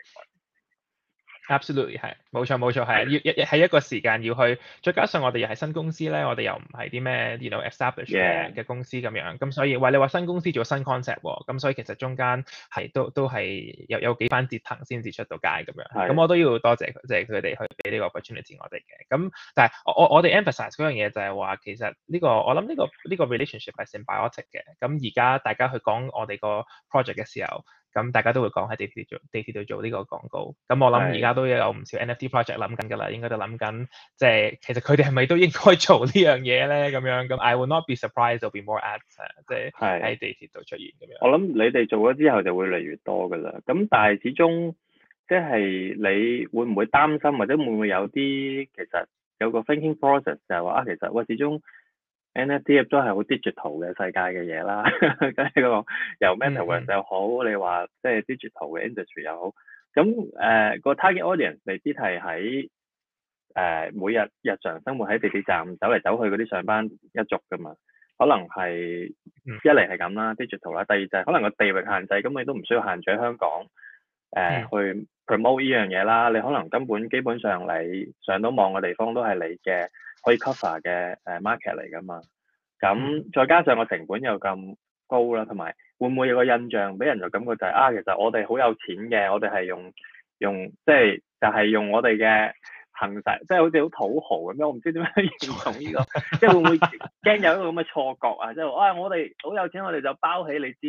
Absolutely 係，冇錯冇錯係，要一係一個時間要去，再加上我哋又係新公司咧，我哋又唔係啲咩，you know established 嘅嘅公司咁樣，咁所以喂你話新公司做新 concept 喎，咁所以其實中間係都都係有有幾番折騰先至出到街咁樣，咁我都要多謝即係佢哋去俾呢個 opportunity 我哋嘅，咁但係我我我哋 emphasize 嗰樣嘢就係話其實呢、呢個我諗呢個呢個 relationship 係 symbiotic 嘅，咁而家大家去講我哋個 project 嘅時候。咁大家都會講喺地鐵做地鐵度做呢個廣告，咁我諗而家都有唔少 N F T project 諗緊㗎啦，應該都諗緊，即係其實佢哋係咪都應該做呢樣嘢咧？咁樣咁 I will not be surprised there will be more ads 即係喺地鐵度出現咁樣。 我諗你哋做咗之後就會越嚟越多㗎啦。咁但係始終即係你會唔會擔心，或者會唔會有啲其實有個 thinking process 就係話啊，其實喂始終 N F T 都係好 digital 嘅世界嘅嘢啦，即係嗰個由 metaverse 又好，嗯、你話即係 digital 嘅 industry 又好，咁誒、呃個 target audience 未必係喺誒每日日常生活喺地鐵站走嚟走去嗰啲上班一族噶嘛，可能係一嚟係咁啦 digital 啦，第二就係可能個地域限制，咁你都唔需要限住喺香港誒、呃嗯、去 promote 呢樣嘢啦，你可能根本基本上你上到網嘅地方都係你嘅。可以 cover 嘅誒 market 嚟㗎嘛，咁再加上個成本又咁高啦，同埋會唔會有個印象俾人就感覺就係、是、啊，其實我哋好有錢嘅，我哋係用用即係就係、是、用我哋嘅行勢，即、就、係、是、好似好土豪咁樣，我唔知點樣形容呢個，即係會唔會驚有一個咁嘅錯覺啊？即係啊，我哋好有錢，我哋就包起你知，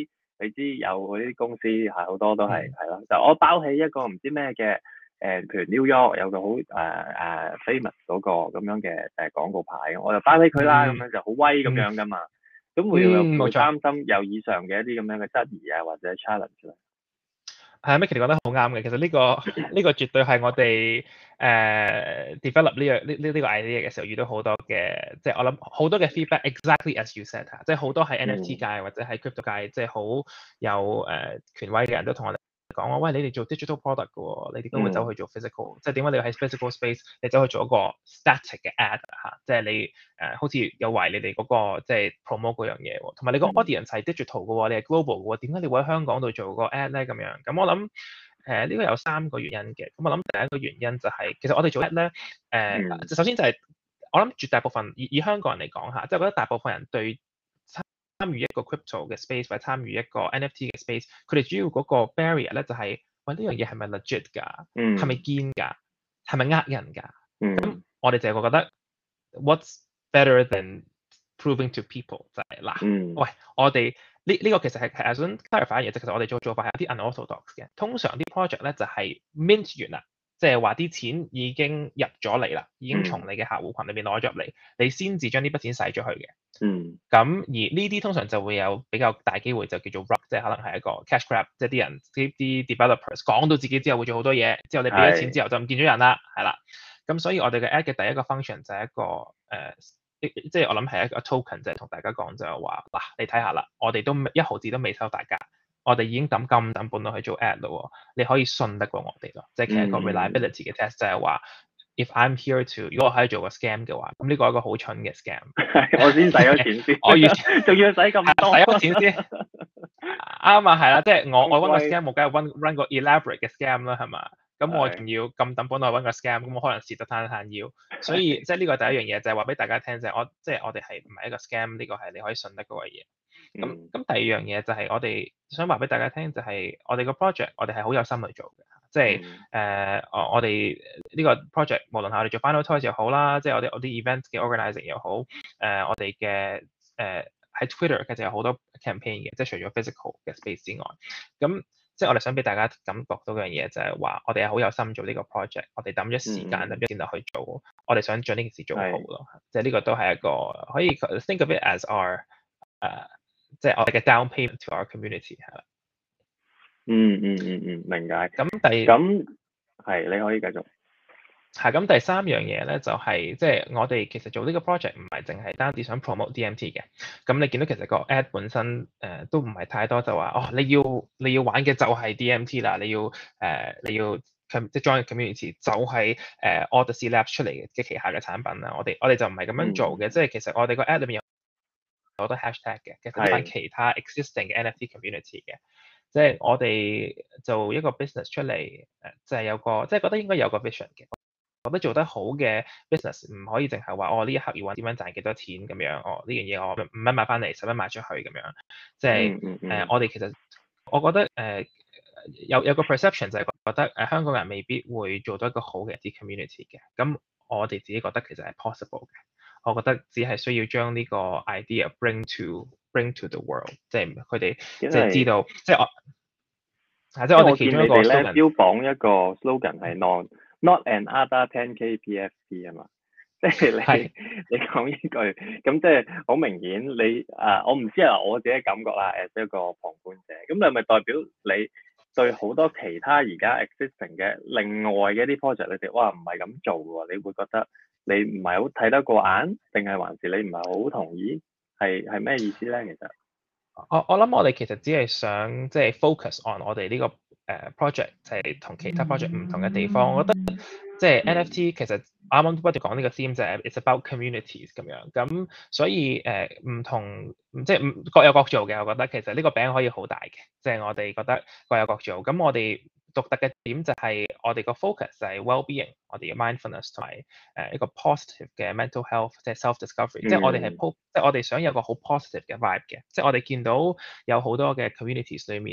你知有嗰啲公司係好多都係係咯，就我包起一個唔知咩嘅誒，譬如 New York 有個好誒誒 famous 嗰個咁樣嘅誒廣告牌，我就包起佢啦，咁、嗯、樣就好威咁樣噶嘛。咁、嗯、會有會擔心有以上嘅一啲咁樣嘅質疑啊，或者 challenge 咧？ 係啊，Micky 講得好啱嘅。其實呢、呢個呢、呢個絕對係我哋誒、uh, develop 呢樣呢呢呢個 idea 嘅時候遇到好多嘅，即係我諗好多嘅 feedback。Exactly as you said 即係好多喺 N F T 界或者喺 crypto 界，即係好有誒、uh, 權威嘅人都同我哋講話，喂，你哋做 digital product 嘅喎，你點解會走去做 physical？、嗯、即係點解你喺 physical space 你走去做一個 static 嘅 ad 嚇？即係你誒、uh, 好似有懷疑你哋嗰、嗰個即係 promote 嗰樣嘢喎，同埋你個 audience 係 digital 嘅喎，你係 global 嘅喎，點解你會喺香港度做個 ad 咧咁樣？咁我諗誒呢個有三個原因嘅。咁我諗第一個原因就係、是、其實我哋做 ad 咧誒，呃嗯、首先就係、是、我諗絕大部分以以香港人嚟講嚇，即係覺得大部分人對參與一個 crypto 嘅 space 或者參與一個 N F T 嘅 space，佢哋主要嗰個 barrier 咧就係、是，喂，呢樣嘢係咪 legit 㗎？係咪堅㗎？係咪呃人㗎？咁、嗯、我哋就係覺得 what's better than proving to people 就係、是、嗱， 嗯、 喂，我哋呢呢個其實係係想 clarify 嘅嘢，即係其實我哋做做法係有啲 unorthodox 嘅。通常啲 project 咧就係 mint 完啦。即係話啲錢已經入咗嚟啦，已經從你嘅客戶群裏邊攞咗入嚟，你先至將呢筆錢使咗去嘅。 嗯。 咁而呢啲通常就會有比較大機會就叫做 rug，即係可能係一個 cash grab，即係啲人啲啲 developers 講到自己之後會做好多嘢，之後你俾咗錢之後就唔見咗人啦，係啦。咁所以我哋嘅 ad 嘅第一個 function 就係一個誒、呃，即係我諗係一個 token，就係同大家講就係話嗱，你睇下啦，我哋都一毫子都未收大家。我哋已經抌咁抌本落去做 ad 咯，你可以信得過我哋咯，即係其實一個 reliability 嘅 test 就係話 ，if I'm here to，如果我可以做個 scam 嘅話，咁呢個係一個好蠢嘅 scam。 我先使咗錢先，我完仲要使咁多， 使咗錢先。啱啊，係啦，即係我我揾個 scam，我梗係 run run 個 elaborate 嘅 scam 啦，係嘛？咁我仲要咁抌本落去揾個 scam，咁我可能蝕得攤攤腰。所以即係呢個第一樣嘢就係話俾大家聽就係我即係我哋係唔係一個 scam，呢個係你可以信得過嘅嘢。咁咁、嗯、第二樣嘢就係我哋想話俾大家聽，就係我哋個 project，我哋係好有心去做嘅，即係誒、嗯呃，我我哋呢個 project 無論係我哋做 Final Toys 又好啦，即係我哋我啲 event 嘅 organizing 又好，誒、呃、我哋嘅誒喺 Twitter 其實有好多 campaign 嘅，即係除咗 physical 嘅 space 之外，咁即係我哋想俾大家感覺到嘅樣嘢就係話，我哋係好有心做呢個 project，我哋抌咗時間抌咗錢落去做，嗯、我哋想將呢件事做好咯，即係呢個都係一個可以 think of it as our 誒、uh,。即係我哋嘅 down payment to our community 係啦。 嗯嗯嗯嗯，明解。 咁第咁係你可以繼續。 係咁第三樣嘢咧，就係即係我哋其實做呢個 project 唔係淨係單止想 promote D M T 嘅。咁你見到其實個 ad 本身誒、呃、都唔係太多，就話哦你要你要玩嘅就係 D M T 啦，你要誒、呃、你要即係 join community 就係誒 Odyssey Labs 出嚟嘅旗下嘅產品啦。我哋我哋就唔係咁樣做嘅，即係、嗯、其實我哋個 ad 裏面有好多 hashtag 嘅，其實都係其他 existing 嘅 N F T community 嘅，即係我哋做一個 business 出嚟，誒，就係有個，即係覺得應該有個 vision 嘅。覺得做得好嘅 business 唔可以淨係話，哦，呢一刻要揾點樣賺幾多錢咁樣，哦，呢樣嘢我五蚊買翻嚟，十蚊賣出去咁樣，即係誒，我哋其實我覺得誒、呃、有有個 perception 就係覺得誒、呃、香港人未必會做到一個好嘅啲 community 嘅，咁我哋自己覺得其實係 possible 嘅。我覺得只係需要將呢個 idea bring to bring to the world，即係佢哋即係知道，即係我係即係我哋其中一個 slogan 標榜一個 slogan 係 not not another ten K P F P 啊嘛，即係你是你講呢句，咁即係好明顯你啊，我唔知啊，我自己感覺啦，誒一個旁觀者，咁你係咪代表你對好多其他而家 existing 嘅另外嘅一啲 project 你哋哇唔係咁做喎，你會覺得？你唔係好睇得過眼，定係還是你唔係好同意？係係咩意思咧？其實我我諗我哋其實只係想即係 focus on 我哋呢個誒 project，就係同其他 project 唔同嘅地方。我覺得即係 N F T 其實啱啱不斷講呢個 theme 就係 it's about communities 咁樣。咁所以誒唔同即係唔各有各做嘅。我覺得其實呢個餅可以好大嘅，即係我哋覺得各有各做。咁我哋獨特嘅點就係我哋個 focus 就係 well-being，我哋嘅 mindfulness 同埋誒一個 positive 嘅 mental health，即係 self-discovery，、嗯、即係我哋係 po，即係我哋想有個好 positive 嘅 vibe 嘅，即係我哋見到有好多嘅 communities 裏面誒、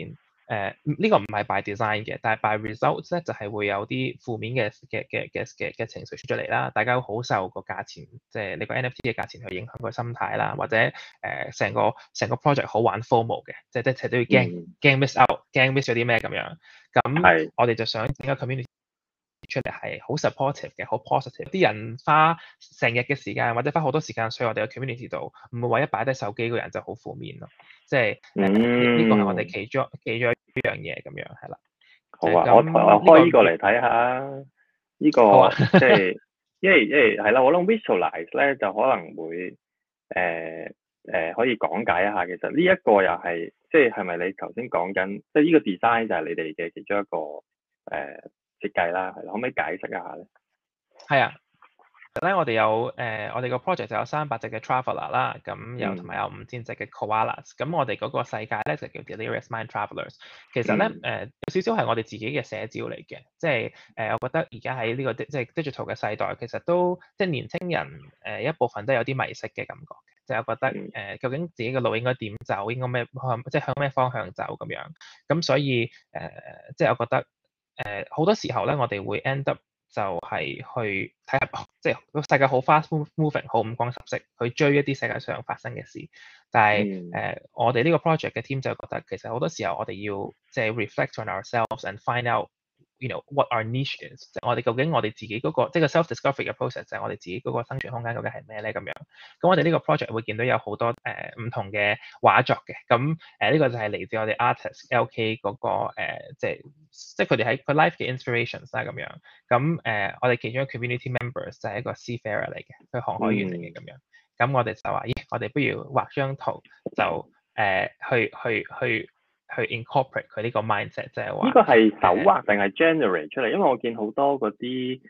誒呢個唔係 by design 嘅，但係 by results 咧就係、是、會有啲負面嘅嘅嘅嘅嘅嘅情緒出咗嚟啦。大家好受個價錢，即係你個 N F T 嘅價錢去影響個心態啦，或者誒成、呃、個成個 project 好玩 FOMO 嘅，即係即係都要驚驚 miss out，驚 miss 咗啲咩咁樣。咁我哋就想整個 community出嚟係好 supportive 嘅，好 positive。啲人花成日嘅時間或者花好多時間去我哋嘅 community 度，唔會話一擺低手機個人就好負面咯。即係呢呢個係我哋其中其中一樣嘢咁樣係啦。 好啊， 嗯、 我我開呢個嚟睇下，呢、呢個、啊、即係因為因為係啦，我諗 visualize 咧就可能會誒誒、呃呃、可以講解一下。其實呢一個又係即係係咪你頭先講緊，即係呢個 design 就係你哋嘅其中一個誒。呃設計啦，係啦，可唔可以解釋一下咧？ 係啊，咧我哋有誒、呃，我哋個 project 就有三百隻嘅 traveler 啦，咁有同埋有五千隻嘅 koalas，咁我哋嗰個世界咧就叫 Delirious Mind Travelers。其實咧誒、呃、有少少係我哋自己嘅寫照嚟嘅，即係誒、呃、我覺得而家喺呢個即係 digital 嘅世代，其實都即係年輕人誒、呃、一部分都有啲迷失嘅感覺嘅，即係我覺得誒、呃、究竟自己嘅路應該點走，應該咩向即係向咩方向走咁樣，咁所以誒、呃、即係我覺得。誒好、呃、多時候咧，我哋會 end up 就係去睇下，即係個世界好 fast moving，好五光十色，去追一啲世界上發生嘅事。但係誒、 嗯呃，我哋呢個 project 嘅 team 就覺得，其實好多時候我哋要即係 reflect on ourselves and find out。You know what our niche is，即係我哋究竟我哋自己嗰、那個即係個 self discovery 嘅 process 就係我哋自己嗰個生存空間究竟係咩咧咁樣。咁我哋呢個 project 會見到有好多誒唔、呃、同嘅畫作嘅。咁誒呢個就係嚟自我哋 artist L K 嗰、那個、呃、即係即係佢哋喺佢 life 嘅 inspirations 啦咁樣。咁誒、呃、我哋其中一個 community members 就係一個 seafarer 嚟嘅，佢航海員嚟嘅咁樣。咁我哋就話咦，我哋不如畫張圖就誒、呃、去去去。去去 incorporate 佢呢個 mindset，即係話呢個係手畫定係 generate 出嚟？因為我見好多嗰啲誒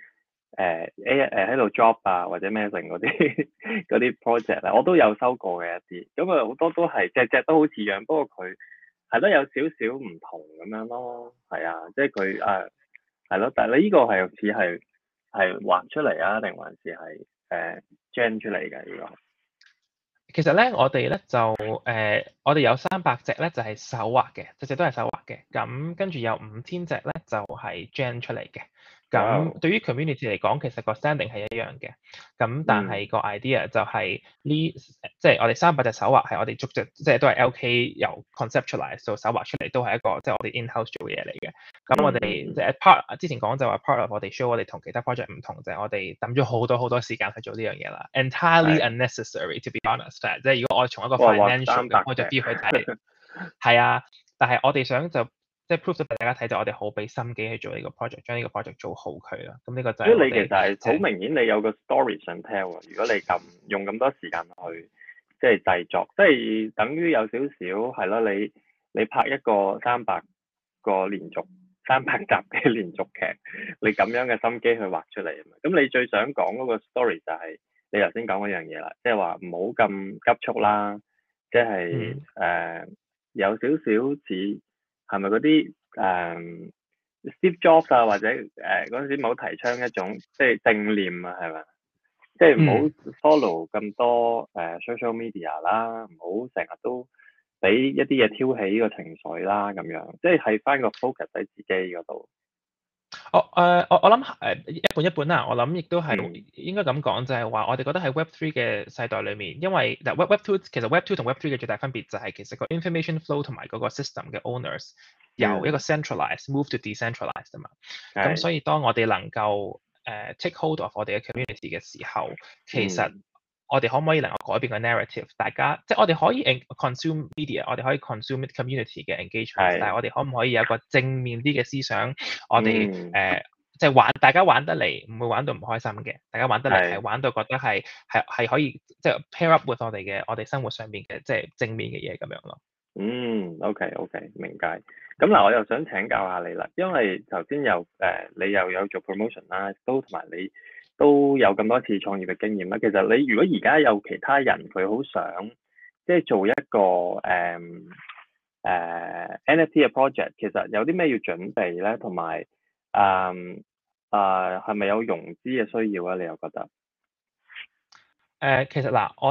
A 誒喺度 job 啊或者咩成嗰啲嗰啲 project 咧，我都有收過嘅一啲。咁啊好多都係隻隻都好似樣，不過佢係都有少少唔同咁樣咯。係啊，即係佢誒係咯。但係你呢個係似係係畫出嚟啊，定還是係誒 gen 出嚟嘅呢個？ 其實咧，我哋咧就誒、呃，我哋有三百隻咧就係、是、手畫嘅，隻隻都係手畫嘅。咁跟住有五千隻咧就係、是、gen 出嚟嘅。咁對於 community 嚟講，其實個 standing 係一樣嘅。咁但係個 idea 就係呢，即係我哋三百隻手畫係我哋逐隻，即係都係 L K 由 conceptualize 到手畫出嚟，都係一個即係我哋 in-house 做嘅嘢嚟嘅。咁我哋即係 part 之前講就話 part of 我哋 show 我哋同其他 project 唔同就係、是、我哋抌咗好多好多時間去做呢樣嘢啦，entirely unnecessary to be honest。即係如果我從一個 financial 嘅 point of view 去睇，係啊，但係我哋想就。即係 prove 咗俾大家睇，就我哋好俾心機去做呢個 project，將呢個 project 做好佢啦。咁呢個就係我哋。所以你其實係好明顯，你有個 story 想 tell 啊。如果你咁用咁多時間去即係製作，即係等於有少少係咯。你你拍一個三百個連續三百集嘅連續劇，你咁樣嘅心機去畫出嚟啊嘛。咁你最想講嗰個 story 就係你頭先講嗰樣嘢啦，即係話唔好咁急促啦，即係誒、嗯呃、有少少似。係咪嗰啲誒 Steve Jobs 啊，或者誒嗰陣時冇提倡一種即係正念啊，係咪？即係唔好 follow 咁多誒、呃、social media 啦，唔好成日都俾一啲嘢挑起呢個情緒啦，咁樣即係係翻個 focus 喺自己嗰度。 我誒我我諗誒一半一半啦，我諗亦都係應該咁講，就係話我哋覺得喺 Web Three 嘅世代裏面，因為嗱 Web Web Two 其實 Web Two 同 Web Three 嘅最大分別就係其實個 information flow 同埋嗰個 system 嘅 owners 由一個 centralized move to decentralized 啊嘛。咁所以當我哋能夠誒 take hold of 我哋嘅 community 嘅時候，其實我哋可唔可以能夠改變個 narrative？大家即係我哋可以 consume media，我哋可以 consume community 嘅 engagement，但係我哋可唔可以有個正面啲嘅思想？我哋誒即係玩，大家玩得嚟唔會玩到唔開心嘅，大家玩得嚟係玩到覺得係係係可以即係 pair up with 我哋嘅我哋生活上面嘅即係正面嘅嘢咁樣咯。 嗯，OK OK，明解。咁嗱，我又想請教下你啦，因為頭先又誒、呃、你又有做 promotion 啦，都同埋你都有咁多次創業嘅經驗啦。其實你如果而家有其他人佢好想即係做一個誒誒、呃呃、N F T 嘅 project，其實有啲咩要準備咧？同埋誒誒係咪有融資嘅需要啊？你又覺得？ 誒、呃，其實嗱，我哋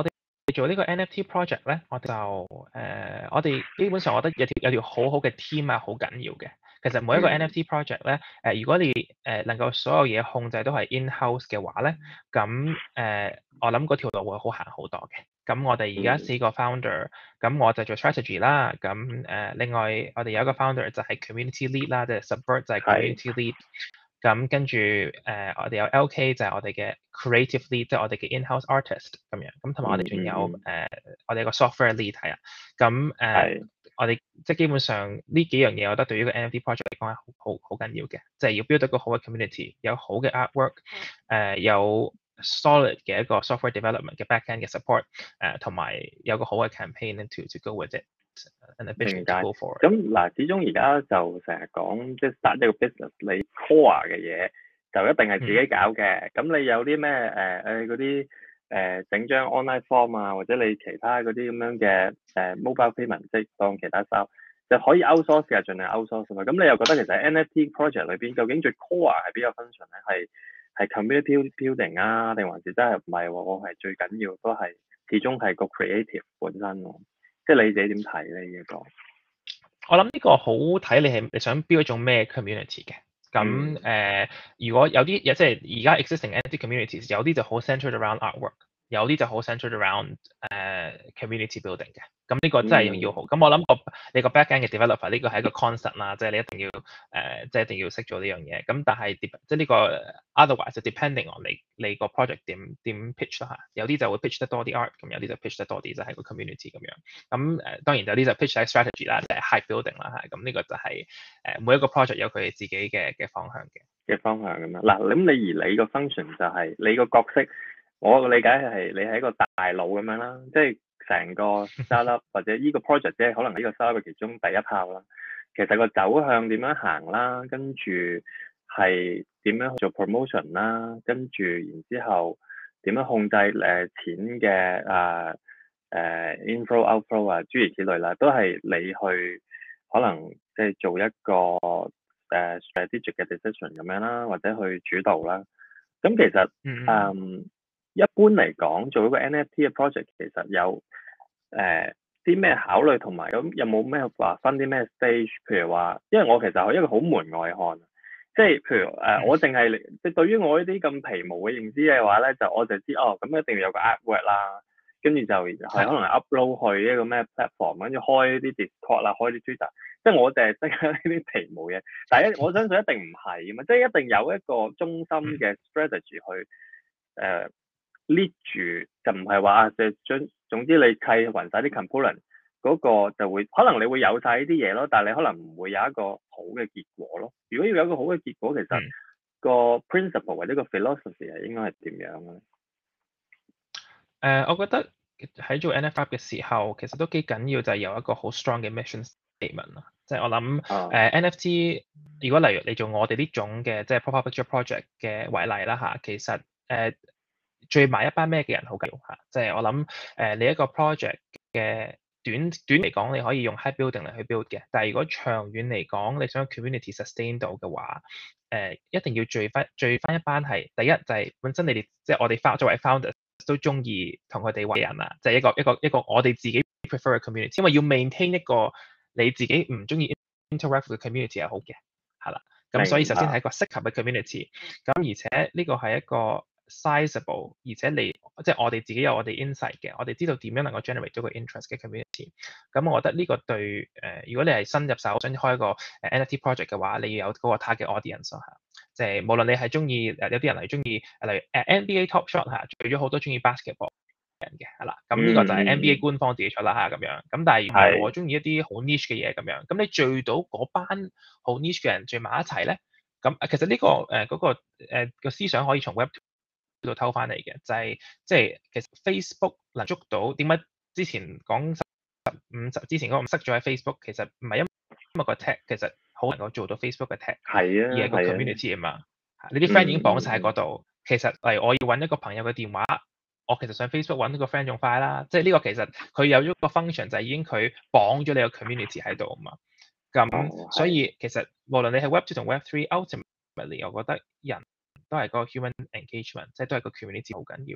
做呢個 N F T project 咧，我就誒、呃，我哋基本上我覺得有條有條好好嘅 team 啊，好緊要嘅。其實每一個 N F T project 咧，誒、呃，如果你誒、呃、能夠所有嘢控制都係 in-house 嘅話咧，咁誒、呃，我諗嗰條路會好行好多嘅。咁我哋而家四個 founder，咁我就做 strategy 啦。咁誒、呃，另外我哋有一個 founder 就係 community lead 啦，即係 Subvert 就係 community lead。咁跟住誒、呃，我哋有 L K 就係我哋嘅 creative lead，即係我哋嘅 in-house artist 咁樣。咁同埋我哋仲有誒、 嗯呃，我哋有個 software lead 係啊。咁誒、呃，我哋即係基本上呢幾樣嘢，我覺得對於個 N F T project 嚟講係好好好緊要嘅，即係要 build 一個好嘅 community，有好嘅 artwork，誒、呃、有 solid 嘅一個 software development 嘅 backend 嘅 support，誒、呃、同埋有個好嘅 campaign to to go with it。 明解。咁嗱，始終而家就成日講，即係 start 一個 business，你 core 嘅嘢就一定係自己搞嘅。咁、嗯、你有啲咩誒誒嗰啲誒整張 online form 啊，或者你其他嗰啲咁樣嘅誒、呃、mobile payment，即係當其他收就可以 outsource 嘅，盡量 outsource 嘛。咁你又覺得其實 N F T project 裏邊究竟最 core 係邊個 function 咧？係係 community building 啊，定還是真係唔係喎？我係最緊要都係始終係個 creative 本身喎。即係你自己點睇咧？呢一個我諗呢個好睇你係你想 build 一種咩 community 嘅。咁誒、 嗯呃，如果有啲即係而家 existing 嘅一啲 communities，有啲就好 centered around artwork，有啲就好 centered around 誒、呃、community building 嘅。咁呢個真係要好。咁、嗯、我諗個你個 backend 嘅 developer 呢個係一個 concept 啦，即係你一定要誒、呃，即係一定要識做呢樣嘢。咁但係即係呢個 otherwise 就 depending on 你你個 project 點點 pitch 啦嚇。有啲就會 pitch 得多啲 art，咁有啲就 pitch 得多啲就係個 community 咁樣。咁誒、呃、當然有啲就 pitch 喺 strategy 啦，就係 hype building 啦嚇。咁呢個就係、是、誒、呃、每一個 project 有佢自己嘅嘅方向嘅嘅方向咁樣。嗱，咁你而你個 function 就係、是、你個角色，我嘅理解係你係一個大佬咁樣啦，即係成個 startup 或者呢個 project 即係可能呢個 startup 嘅其中第一炮啦。其實個走向點樣行啦，跟住係點樣去做 promotion 啦，跟住然之後點樣控制誒、呃、錢嘅啊誒 inflow outflow 啊諸如此類啦，都係你去可能即係做一個誒、uh, strategic 嘅 decision 咁樣啦，或者去主導啦。咁其實誒、 嗯嗯、一般嚟講，做一個 N F T 嘅 project 其實有誒啲咩考慮，同埋咁有冇咩話分啲咩 stage？譬如話，因為我其實係一個好門外漢，即係譬如誒、呃，我淨係即係對於我呢啲咁皮毛嘅認知嘅話咧，就我就知哦，咁一定要有個 artwork 啦，跟住就係可能 upload 去一個咩 platform，跟住開啲 Discord 啦，開啲 Twitter，即係我淨係識呢啲皮毛嘢。但係我相信一定唔係㗎嘛，即係一定有一個中心嘅 strategy 去誒、呃、lead 住，就唔係話啊，就將總之你砌勻晒啲 component 嗰個就會，可能你會有晒呢啲嘢咯，但係你可能唔會有一個好嘅結果咯。如果要有一個好嘅結果，其實個 principle 或者個 philosophy 係應該係點樣咧？誒、 呃，我覺得喺做 N F T 嘅時候，其實都幾緊要就係有一個好 strong 嘅 mission statement 啦。即係我諗誒、 啊呃、N F T，如果例如你做我哋呢種嘅即係 pop-up picture project 嘅為例啦嚇，其實誒、呃、聚埋一班咩嘅人好緊要嚇。即係我諗誒、呃、你一個 project 嘅短短嚟講，你可以用 hype building 嚟去 build 嘅。但係如果長遠嚟講，你想 community sustain 到嘅話，誒、呃、一定要聚翻聚翻一班係第一就係、是、本身你哋即係我哋 found 作為 founder 都中意同佢哋為人啊，就係、是、一個一個一個我哋自己 prefer 嘅 community，因為要 maintain 一個你自己唔中意 interact 嘅 community 係好嘅，係啦。咁所以首先係一個適合嘅 community，咁而且呢個係一個 sizable，而且你即係我哋自己有我哋 insight 嘅，我哋知道點樣能夠 generate 到個 interest 嘅 community。咁我覺得呢個對誒、呃，如果你係新入手想開一個誒 N F T project 嘅話，你要有嗰個 target audience 嚇。即係無論你係中意誒，有啲人係中意，例如誒 N B A Top Shot 嚇，除咗好多中意 basketball 人嘅係啦，咁呢個就係 N B A 官方自己出啦嚇咁樣。咁但係唔係我中意一啲好 niche 嘅嘢咁樣。咁你聚到嗰班好 niche 嘅人聚埋一齊咧，咁其實呢、這個誒嗰、呃那個誒個、呃、思想可以從 Web 度偷翻嚟嘅，就係即係其實 Facebook 能捉到點解之前講十五十之前嗰個塞咗喺 Facebook， 其實唔係因為個 tag 其實好能夠做到 Facebook 嘅 tag， 係啊， 而係個 community 啊嘛。你啲 friend 已經綁晒喺嗰度，其實例如我要揾一個朋友嘅電話，我其實上 Facebook 揾一個 friend 仲快啦。即係呢個其實佢有咗個 function 就係已經佢綁咗你個 community 喺度啊嘛。咁、哦、所以其實無論你係 Web Two 同 Web Three，ultimately 我覺得人都係個 human engagement，即係都係個 community 好緊要咯。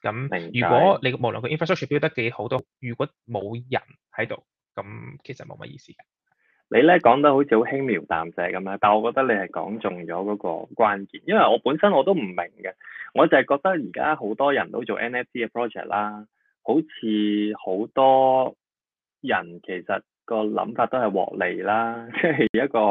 咁如果你無論個 infrastructure build 得幾好都，如果冇人喺度，咁其實冇乜意思嘅。 你咧講得好似好輕描淡寫咁樣，但係我覺得你係講中咗嗰個關鍵，因為我本身我都唔明嘅，我就係覺得而家好多人都做 N F T 嘅 project 啦，好似好多人其實個諗法都係獲利啦，即係一個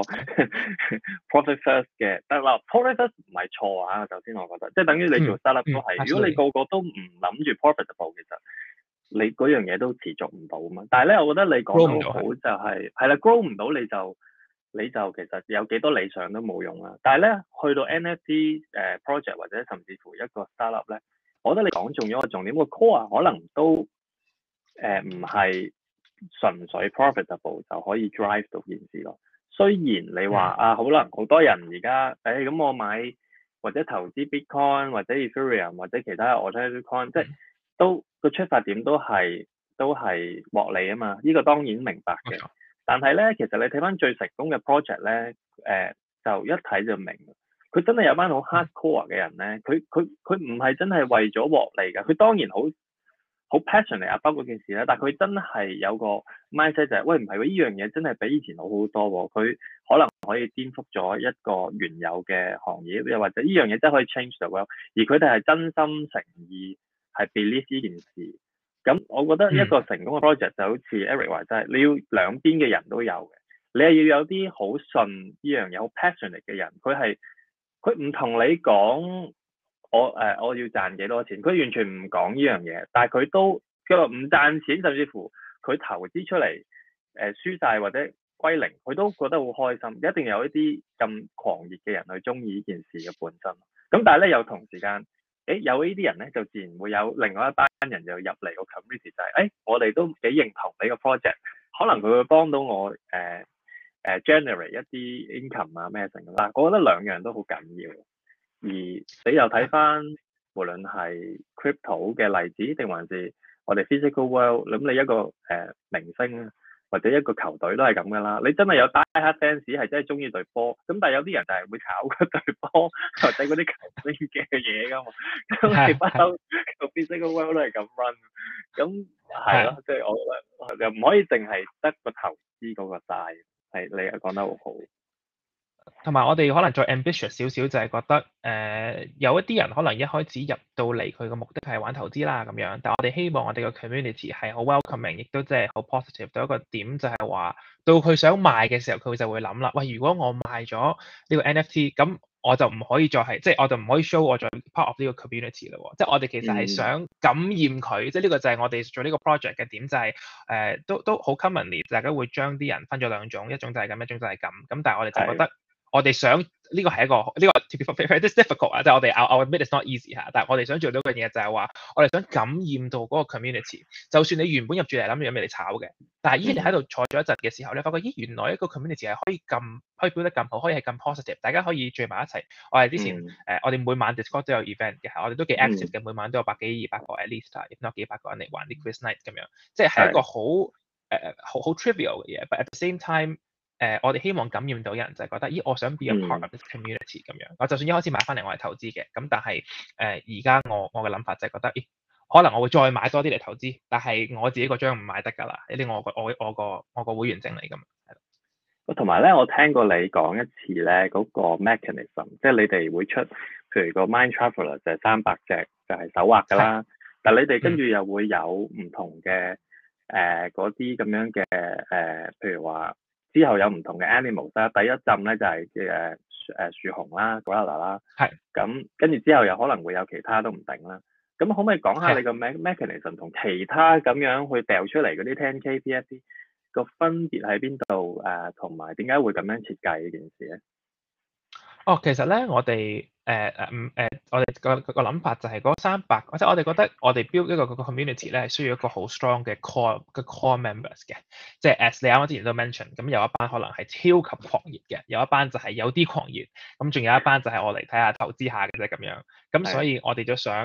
profit first 嘅，但係話 profit first 唔係錯啊，首先我覺得，即係等於你做 startup 都係，如果你個個都唔諗住 profitable，其實你嗰樣嘢都持續唔到啊嘛，但係咧，我覺得你講得好就係係啦 ，grow 唔到你就你就其實有幾多理想都冇用啦。但係咧，去到 N F T 誒、呃、project 或者甚至乎一個 startup 咧，我覺得你講中咗個重點，個 core 可能都誒唔係純粹 profitable 就可以 drive 到件事咯。雖然你話、嗯、啊，可能好多人而家誒咁我買或者投資 Bitcoin 或者 Ethereum 或者其他 alternative coin，即係都個出發點都係都係獲利啊嘛，呢、這個當然明白嘅。Okay. 但係咧，其實你睇翻最成功嘅 project 咧，誒、呃、就一睇就明，佢真係有班好 hardcore 嘅人咧，佢佢佢唔係真係為咗獲利㗎，佢當然好好 passionate 啊，包括件事咧，但係佢真係有個 mindset 就係、是，喂唔係喎，呢樣嘢真係比以前好好多喎，佢可能可以顛覆咗一個原有嘅行業，又或者呢樣嘢真係可以 change the world，而佢哋係真心誠意。係 believe 呢件事，咁我覺得一個成功嘅 project 就好似 Eric 話齋，你要兩邊嘅人都有嘅，你係要有啲好信呢樣嘢、好 passionate 嘅人，佢係佢唔同你講我誒、呃、我要賺幾多錢，佢完全唔講呢樣嘢，但係佢都佢話唔賺錢，甚至乎佢投資出嚟誒、呃、輸晒或者歸零，佢都覺得好開心，一定有一啲咁狂熱嘅人去中意呢件事嘅本身，咁但係咧有同時間。誒有呢啲人咧，就自然會有另外一班人就入嚟個 community，就係、是、誒我哋都幾認同你個 project，可能佢會幫到我誒誒、呃呃、generate 一啲 income 啊咩成啦。我覺得兩樣都好緊要。而你又睇翻，無論係 crypto 嘅例子，定還是我哋 physical world，咁你一個誒、呃、明星或者一個球隊都係咁噶啦。你真係有 die hard fans 係真係中意隊波，咁但係有啲人就係會炒嗰隊波或者嗰啲球星嘅嘢噶嘛。咁你不嬲個 physical world 都係咁 run，咁係咯，即係我覺得又唔可以淨係得個投資嗰個 side，係你又講得好好。 同埋我哋可能再 ambitious 少少，就係覺得誒、呃、有一啲人可能一開始入到嚟佢個目的係玩投資啦咁樣，但係我哋希望我哋個 community 係好 welcoming，亦都即係好 positive 到一個點就係話，到佢想賣嘅時候，佢就會諗啦，喂，如果我賣咗呢個 N F T，咁我就唔可以再係，即係我就唔可以 show 我再 part of 呢個 community 咯。即係我哋其實係想感染佢，嗯、即係呢個就係我哋做呢個 project 嘅點，就係、是、誒、呃、都都好 commonly，大家會將啲人分咗兩種，一種就係咁，一種就係咁。咁但係我哋就覺得。我哋想呢、這個係一個呢、這個 to be fair this difficult 啊，即係我哋 I admit it's not easy 嚇，但係我哋想做到嘅嘢就係話，我哋想感染到嗰個 community。就算你原本入住嚟諗住有咩嚟炒嘅，但係依你喺度坐咗一陣嘅時候咧，發覺咦原來一個 community 係可以咁可以表得咁好，可以係咁 positive，大家可以聚埋一齊。我哋之前誒、嗯呃、我哋每晚 Discord 都有 event 嘅，我哋都幾 active 嘅，嗯、每晚都有百幾二百個 at least，if not 幾百個人嚟玩啲 quiz night 咁樣，即係係一個好誒好好 trivial 嘅嘢 but at the same time。誒、呃，我哋希望感染到人就係、是、覺得，咦，我想 be a part of this community 咁樣。我就算一開始買翻嚟，我係投資嘅，咁但係誒，而家我我嘅諗法就係覺得，咦，可能我會再買多啲嚟投資，但係我自己個張唔買得㗎啦，呢啲我個我我個我個會員證嚟㗎嘛。 同埋咧，我聽過你講一次咧，嗰、那個 mechanism，即係你哋會出，譬如個 Mind Traveler 就係三百隻，就係、是、手畫㗎啦。的但係你哋跟住又會有唔同嘅誒嗰啲咁樣嘅誒、呃，譬如話。之後有唔同嘅 animals 啦，第一浸咧就係誒誒樹熊啦、gorilla 啦，係咁跟住之後又可能會有其他都唔定啦。咁可唔可以講下你個 mechanism 同其他咁樣去掉出嚟嗰啲 ten K P F P 個分別喺邊度誒？同埋點解會咁樣設計呢件事咧？ 哦，其實咧，我哋誒誒唔誒，我哋個個諗法就係嗰三百，即係我哋覺得我哋 build 一個個 community 咧，係需要一個好 strong 嘅 core 嘅 core members 嘅，即係 as 你啱啱之前都 mention，咁有一班可能係超級狂熱嘅，有一班就係有啲狂熱，咁仲有一班就係我嚟睇下投資下嘅啫咁樣，咁所以我哋就想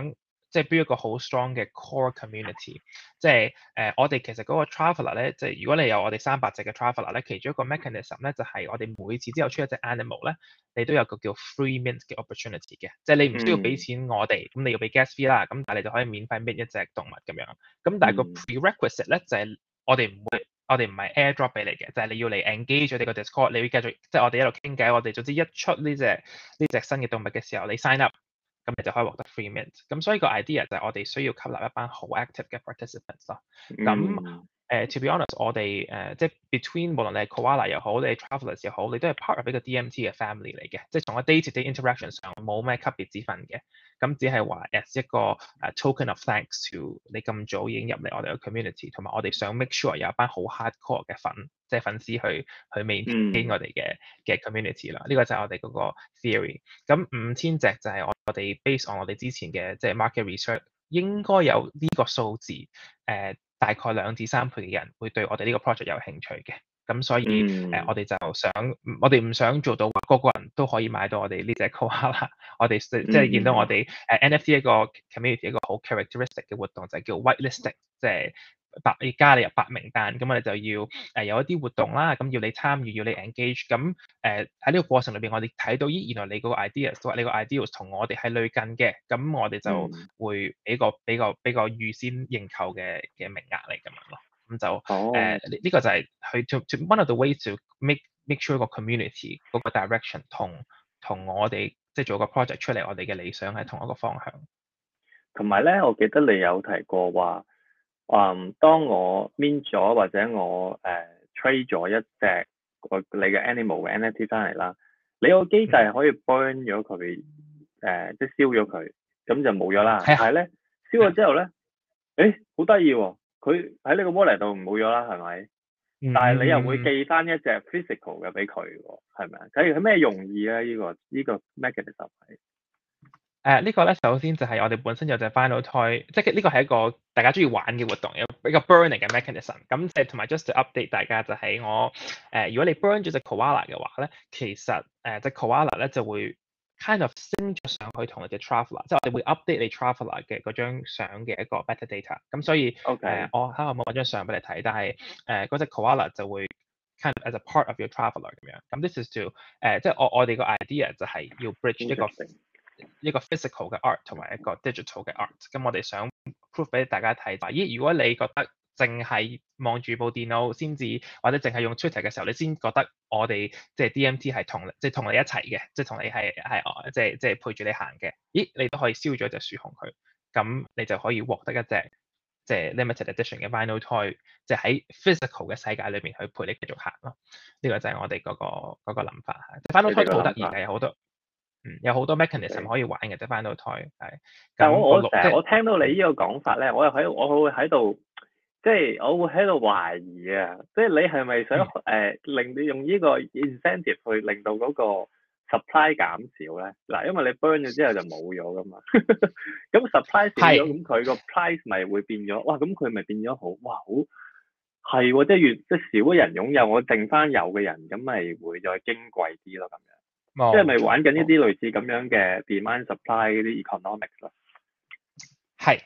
即係 build 一個好 strong 嘅 core community，即係誒、呃、我哋其實嗰個 traveler 咧，即係如果你有我哋三百隻嘅 traveler 咧，其中一個 mechanism 咧就係、是、我哋每次之後出一隻 animal 咧，你都有個叫 free mint 嘅 opportunity 嘅，即係你唔需要俾錢我哋，咁、嗯、你要俾 gas fee 啦，咁但係你就可以免費 mint 一隻動物咁樣。咁但係個 prerequisite 咧就係、是、我哋唔會，我哋唔係 airdrop 俾你嘅，就係、是、你要嚟 engage 我哋個 Discord，你要繼續即係我哋一路傾偈，我哋總之一出呢隻呢隻新嘅動物嘅時候，你 sign up。咁你就可以獲得 free mint。咁所以個 idea 就係我哋需要吸納一班好 active 嘅 participants 咯。咁誒、呃、to be honest，我哋誒、呃、即係 between 無論你係 koala 又好，你係 travelers 又好，你都係 part of 一個 D M T 嘅 family 嚟嘅，即係從個 day to day interaction 上冇咩級別之分嘅。咁只係話 as 一個誒、uh, token of thanks to 你咁早已經入嚟我哋嘅 community，同埋我哋想 make sure 有一班好 hardcore 嘅粉，即係粉絲去去 maintain 我哋嘅嘅 community 啦。呢、嗯、個就係我哋嗰個 theory。咁五千隻就係我我哋 based on 我哋之前嘅即係 market research，應該有呢個數字誒、呃、大概兩至三倍嘅人會對我哋呢個 project 有興趣嘅。咁所以誒、 嗯呃，我哋就想，我哋唔想做到話個個人都可以買到我哋呢隻 koala。我哋即係見到我哋誒 N F T 一個 community 一個好 characteristic 嘅活動就係叫 whitelisting，即係白你加你入白名單。咁我哋就要誒、呃、有一啲活動啦，咁要你參與，要你 engage。咁誒喺呢個過程裏邊，我哋睇到咦，原來你個 ideas 或你個 ideas 同我哋係類近嘅，咁我哋就會俾個俾個俾個預先認購嘅嘅名額嚟咁樣咯。咁就誒呢呢個就係去 to to one of the ways to make make sure 個 community 嗰個 direction 同同我哋即係做個 project 出嚟，我哋嘅理想係同一個方向。 同埋咧，我記得你有提過話，嗯，當我 mint 咗或者我誒、呃、trade 咗一隻個你嘅 animal 嘅 N F T 翻嚟啦，你個機制係可以 burn 咗佢，誒、呃、即係燒咗佢，咁就冇咗啦。係啊。但係咧燒咗之後咧，誒好得意喎！佢喺呢個 wallet 度冇咗啦，係咪？嗯、但係你又會寄翻一隻 physical 嘅俾佢喎，係咪啊？咁佢咩用意咧？呢、這個呢、這個 mechanism 係誒呢個咧，首先就係我哋本身有隻 Final Toy，即係呢個係一個大家中意玩嘅活動，有比較 burning 嘅 mechanism。咁即係同埋 just to update 大家就係我誒、呃，如果你 burn 咗隻 koala 嘅話咧，其實誒隻 koala 咧就會 kind of 升咗上去同你隻 traveler，即係我哋會 update 你 traveler 嘅嗰張相嘅一個 metadata。咁所以誒 Okay.、呃， 我睇下有冇揾張相俾你睇，但係誒嗰隻 koala 就會 kind of as a part of your traveler 咁樣。咁 this is to 誒、呃，即係我我哋個 idea 就係要 bridge 一個一個 physical 嘅 art 同埋一個 digital 嘅 art。咁我哋想 prove 俾大家睇，話咦，如果你覺得淨係望住部電腦先至，或者淨係用 Twitter 嘅時候，你先覺得我哋即係 D M T 係同即係同你一齊嘅，即係同你係係即係即係陪住你行嘅。咦，你都可以燒咗隻樹熊佢，咁你就可以獲得一隻即係 limited edition 嘅 vinyl toy，即係喺 physical 嘅世界裏邊去陪你繼續行咯。呢、這個就係我哋嗰、那個嗰、那個諗法嚇。vinyl toy 好得意嘅，有好多。嗯，有好多 mechanism 可以玩嘅，即係 vinyl toy 係。 但係我我成日我聽到你呢個講法咧，我又喺我會喺度，即係我會喺度懷疑啊！即係你係咪想誒、嗯呃、令你用呢個 incentive 去令到嗰個 supply 減少咧？嗱，因為你 burn 咗之後就冇咗噶嘛。咁 supply 少咗，咁佢個 price 咪會變咗？哇！咁佢咪變咗好哇好係喎，即係越即係少嘅人擁有，我剩翻有嘅人，咁咪會再矜貴啲咯，咁樣。即係咪玩緊呢啲類似咁樣嘅 demand supply 嗰啲 economics 咯？係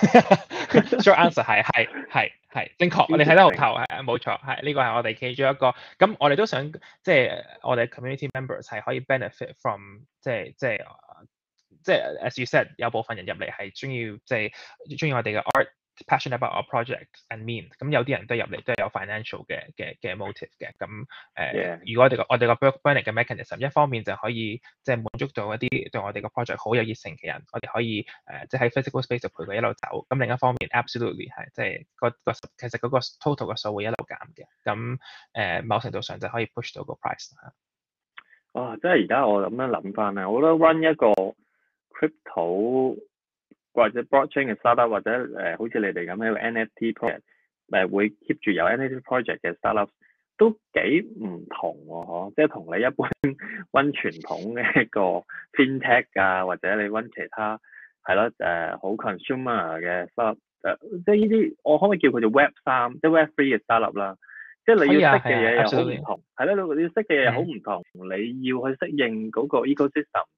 ，short answer 係係係係正確，你睇得好透，係冇錯，係呢個係我哋其中一個。咁我哋都想即係我哋 community members 係可以 benefit from 即係即係即係 as you said 有部分人入嚟係中意即係中意我哋嘅 art。passionate about our project and mean， 咁有啲人都入嚟都係有 financial 嘅嘅嘅 motive 嘅，咁誒，呃 yeah. 如果我哋個我哋個 burning 嘅 mechanism， 一方面就可以即係滿足到一啲對我哋個 project 好有熱誠嘅人，我哋可以誒即係喺 physical space 度陪佢一路走，咁另一方面 absolutely 係即係個個其實嗰個 total 嘅數會一路減嘅，咁誒、呃、某程度上就可以 push 到個 price 嚇。 哇！即係而家我咁樣諗翻咧，我覺得 run 一個 crypto或者 blockchain 嘅 startup 或者誒、呃、好似你哋咁樣嘅 N F T project 誒、呃、會 keep 住有 N F T project 嘅 startup 都幾唔同喎，嗬！即係同你一般揾傳統嘅一個 fintech 啊，或者你揾其他係咯誒好 consumer 嘅 startup 誒，即係呢啲我可唔可以叫佢做 Web 三，即係 Web three 嘅 startup 啦？即係你要識嘅嘢又好唔同，係咯、啊，你要識嘅嘢又好唔同，嗯、你要去適應嗰個 ecosystem。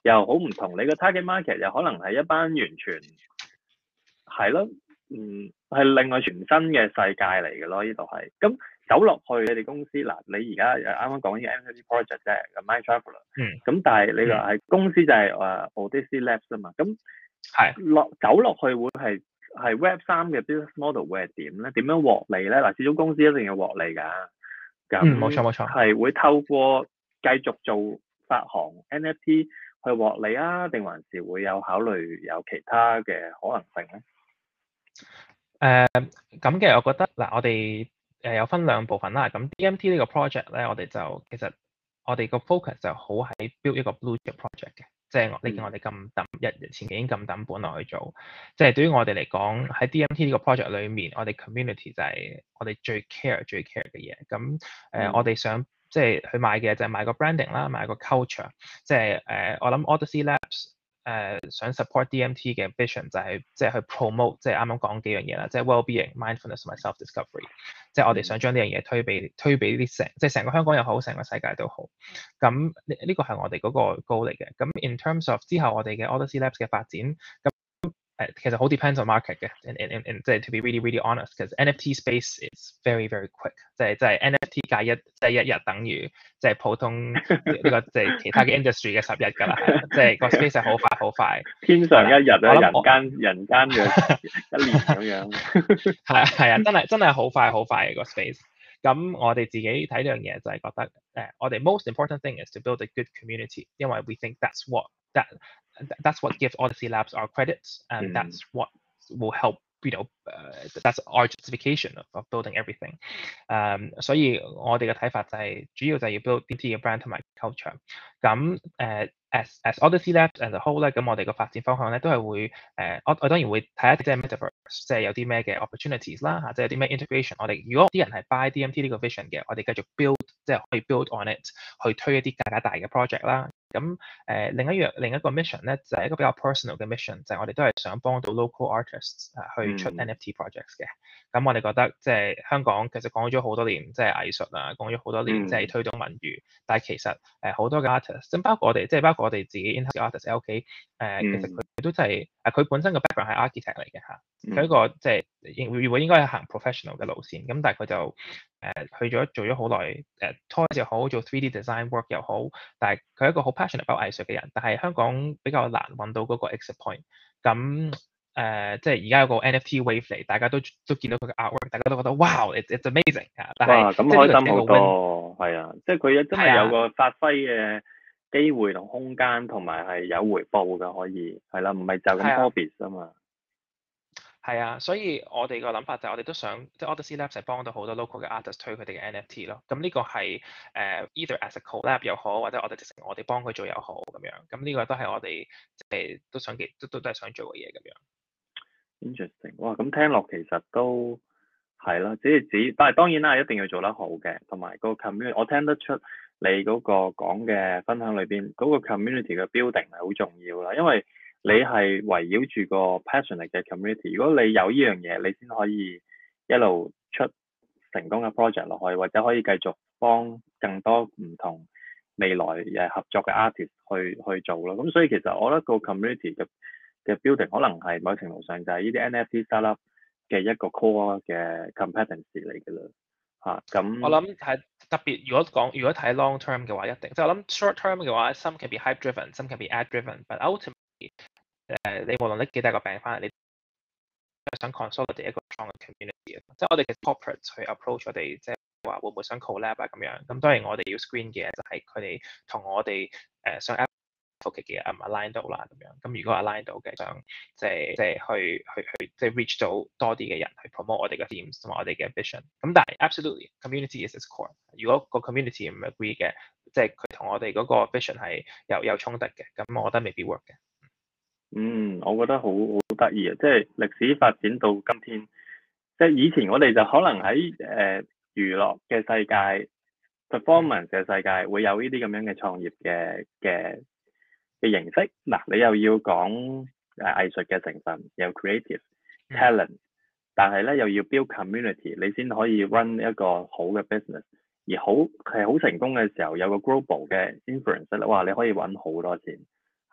又好唔同。你個 target market 又可能係一班完全係咯，嗯，係另外全新嘅世界嚟嘅咯。呢度係咁走落去你哋公司嗱，你而家啱啱講呢個 N F T project 啫，個 Mind Traveler， 嗯， 咁但係你話係公司就係誒 Odyssey Labs 啊嘛，咁係落走落去會係係 Web 三嘅 business model 會係點咧？點樣獲利咧？嗱，始終公司一定要獲利㗎。 嗯，冇錯冇錯， 係會透過繼續做發行 N F T 去獲利啊，定還是會有考慮有其他嘅可能性咧？ 誒咁嘅，我覺得嗱，我哋誒有分兩部分啦。咁 D M T 呢個 project 咧，我哋就其實我哋個 focus 就好喺 build 一個 blue chip project 嘅，即係你見我哋咁抌一日前幾已經咁抌本落去做，即係對於我哋嚟講喺 D M T 呢個 project 裏面，我哋 community 就係我哋最 care 最 care 嘅嘢。咁誒、呃，我哋想即係去買嘅就係買個 branding 啦，買個 culture，即係誒、呃、我諗 Odyssey Labs。誒、呃、想 support D M T 嘅 vision 就係即係去 promote 即係啱啱講幾樣嘢啦，即係 well-being、mindfulness 同埋 self-discovery，即係我哋想將呢樣嘢推俾推俾啲成即係成個香港又好，成個世界都好。咁呢呢個係我哋嗰個 goal 嚟嘅。咁 in terms of 之後我哋嘅 Odyssey Labs 嘅發展，咁誒其實好 depends on market 嘅。and and and 即係 to be really really honest，because N F T space is very very quick，即係即係 N F T 界一即係一日等於即係普通呢個即係其他嘅 industry 嘅十日㗎啦，係啦，即係個 space 係好快好快， 天上一日啊，人我間人間嘅一年咁樣。 係啊係啊，真係真係好快好快嘅個 space。咁我哋自己睇呢樣嘢就係覺得誒，我哋 most important thing is to build a good community，因為 we think that's what that that's what gives Odyssey Labs our credits and that's what will help you know、uh, that's our justification of, of building everything。誒，所以我哋嘅睇法就係主要就係要 build D M T 嘅 brand 同埋 culture。咁誒。As as Odyssey Labs as a whole 咧，咁我哋個發展方向咧都係會誒、呃，我我當然會睇一啲即係 metaverse，即係有啲咩嘅 opportunities 啦嚇，即係有啲咩 integration。我哋如果啲人係 buy D M T 呢個 vision 嘅，我哋繼續 build，即係可以 build on it 去推一啲更加大嘅 project 啦。咁誒、呃、另一樣另一個 mission 咧就係、是、一個比較 personal 嘅 mission，就係我哋都係想幫到 local artists 誒、呃、去出 N F T projects 嘅。咁、嗯、我哋覺得即係香港其實講咗好多年，即係藝術啊，講咗好多年，即係推動文娛。嗯、但係其實誒好、呃、多嘅 artists，即包括我哋，即係包括我哋自己 in-house artist 喺屋企誒，其實佢都真係誒佢本身個 background 係 architect 嚟嘅嚇，佢一個即係應會應該係行 professional 嘅路線。咁但係佢就誒、呃、去咗做咗好耐誒 toys 又好，做 three D design work 又好，但係佢係一個好 passionate about 藝術嘅人。但係香港比較難揾到嗰個 exit point。咁誒、呃，即係而家有個 N F T wave 嚟，大家都都見到佢嘅 artwork，大家都覺得哇 it's it's amazing 嚇。但係咁開心好多，係啊，即係佢真係有個發揮嘅機會同空間，同埋係有回報嘅，可以係啦，唔係就咁 hobbies 啊嘛。 係啊，所以我哋個諗法就係我哋都想，即係 Odyssey Labs 係幫到好多 local 嘅 artist 推佢哋嘅 N F T 咯。咁呢個係誒、uh, either as a collab 又好，或者我哋直情我哋幫佢做又好咁樣。咁呢個都係我哋即係都想嘅，都都都係想做嘅嘢咁樣。 Interesting，哇！咁聽落其實都係啦，只係只，但係當然啦，一定要做得好嘅，同埋個 community，我聽得出你嗰個講嘅分享裏邊嗰個 community 嘅 building 係好重要啦，因為你係圍繞住個 passionate 嘅 community，如果你有呢樣嘢，你先可以一路出成功嘅 project 落去，或者可以繼續幫更多唔同未來誒合作嘅 artist 去去做咯。咁所以其實我覺得個 community 嘅嘅 building 可能係某程度上就係呢啲 N F T startup 嘅一個 core 嘅 competency 嚟嘅啦，嚇咁。 我諗係特別，如果講如果睇 long term 嘅話，一定即係我諗 short term 嘅話，some can be hype driven，some can be ad driven，but ultimately 誒你無論拎幾大個餅翻嚟，你想 consolidate 一個 strong 嘅 community，即係我哋嘅 corporate 去 approach 我哋，即係話會唔會想 collab 啊咁樣。咁當然我哋要 screen 嘅就係佢哋同我哋誒想 advocate 嘅啊 align 到啦咁樣。咁如果 align 到嘅，想即係即係去去去即係 reach 到多啲嘅人去 promote 我哋嘅 themes 同埋我哋嘅 vision。咁但係 absolutely community is its core。如果個 community 唔 agree 嘅，即係佢同我哋嗰個 vision 係有有衝突嘅，咁我覺得未必 work 嘅。 嗯，我覺得好好得意啊！即係歷史發展到今天，即係以前我哋就可能喺誒、呃、娛樂嘅世界、performance 嘅世界會有呢啲咁樣嘅創業嘅嘅嘅形式。嗱，你又要講誒藝術嘅成分，有 creative talent，、嗯、但係咧又要 build community，你先可以 run 一個好嘅 business。而好係好成功嘅時候，有個 global 嘅 influence 咧，哇！你可以揾好多錢。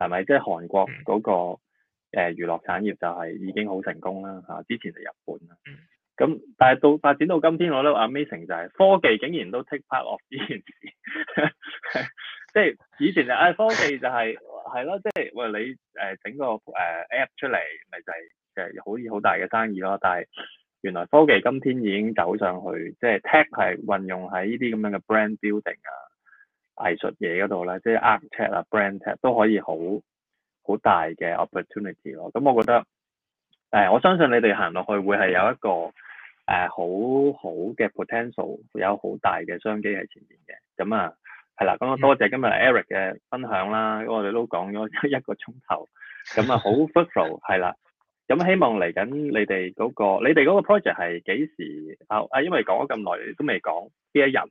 係咪？即係韓國嗯嗰、那個誒、呃、娛樂產業就係已經好成功啦嚇、啊，之前係日本啦。 嗯咁但係到發展到今天，我覺得 amazing 就係科技竟然都 take part of 呢件事，即係以前就誒、哎、科技就係係咯，即係喂你誒、呃、整個誒、呃、app 出嚟，咪就係、是、就係、是、好似好大嘅生意咯。但係原來科技今天已經走上去，即係 tech 係運用喺呢啲咁樣嘅 brand building 啊、藝術嘢嗰度咧，即係 art tech 啊、brand tech 都可以好好大嘅 opportunity 咯。咁我覺得誒、呃，我相信你哋行落去會係有一個誒、呃、好好嘅 potential，有好大嘅商機喺前面嘅。咁啊係啦，咁啊多謝今日 Eric 嘅分享啦，因為我哋都講咗一個鐘頭，咁啊好 fruitful 係啦。咁希望嚟緊你哋嗰、嗰個，你哋嗰個 project 係幾時啊？啊，因為講咗咁耐都未講邊一日，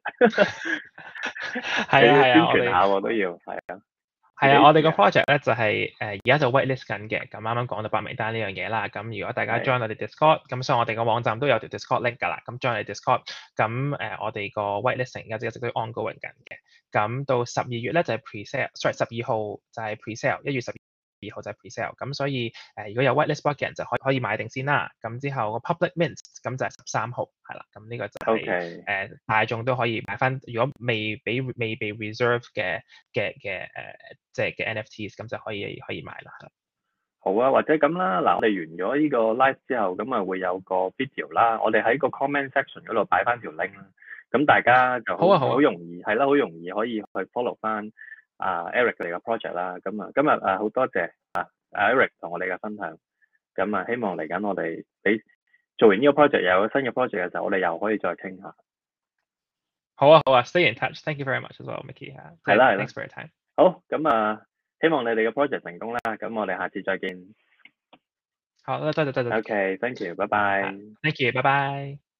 係啊係啊，我宣傳下哋都要係啊。 係啊，我哋個 project 咧就係誒而家就 whitelist 緊嘅，咁啱啱講到白名單呢樣嘢啦。咁如果大家 join 我哋 Discord，咁所以我哋個網站都有條 Discord link 㗎啦。咁 join 我哋 Discord，咁誒、呃、我哋個 whitelisting 而家一直都 ongoing 緊嘅。咁到十二月咧就係 pre-sale，sorry 十二號就係 pre-sale，一月十二號就係 pre-sale。咁所以誒、呃、如果有 whitelist book 嘅人就可以可以買定先啦。咁之後個 public mint 咁就係十三號，係啦。咁呢個就係、是、誒 Okay. 呃、大眾都可以買翻。如果未俾未被 reserve 嘅嘅嘅誒。即係嘅 N F Ts， 咁就可以可以買啦。 好啊，或者咁啦，嗱，我哋完咗呢個 live 之後，咁啊會有個 video 啦，我哋喺個 comment section 嗰度擺翻條 link 啦，咁大家就好好、啊、容易係啦，好容易可以去 follow 翻啊 Eric 嚟嘅 project 啦。咁啊，今日啊好多謝啊 Eric 同我哋嘅分享，咁啊希望嚟緊我哋俾做完呢個 project 又有新嘅 project 嘅時候，我哋又可以再傾下。 好啊好啊 ，stay in touch。Thank you very much as well, Mickey。 係啦係啦 ，thanks for your time。 好，咁啊，希望你哋嘅 project 成功啦。咁我哋下次再見。 好，多謝多謝。 OK，thank you，拜拜。 Thank you，拜拜。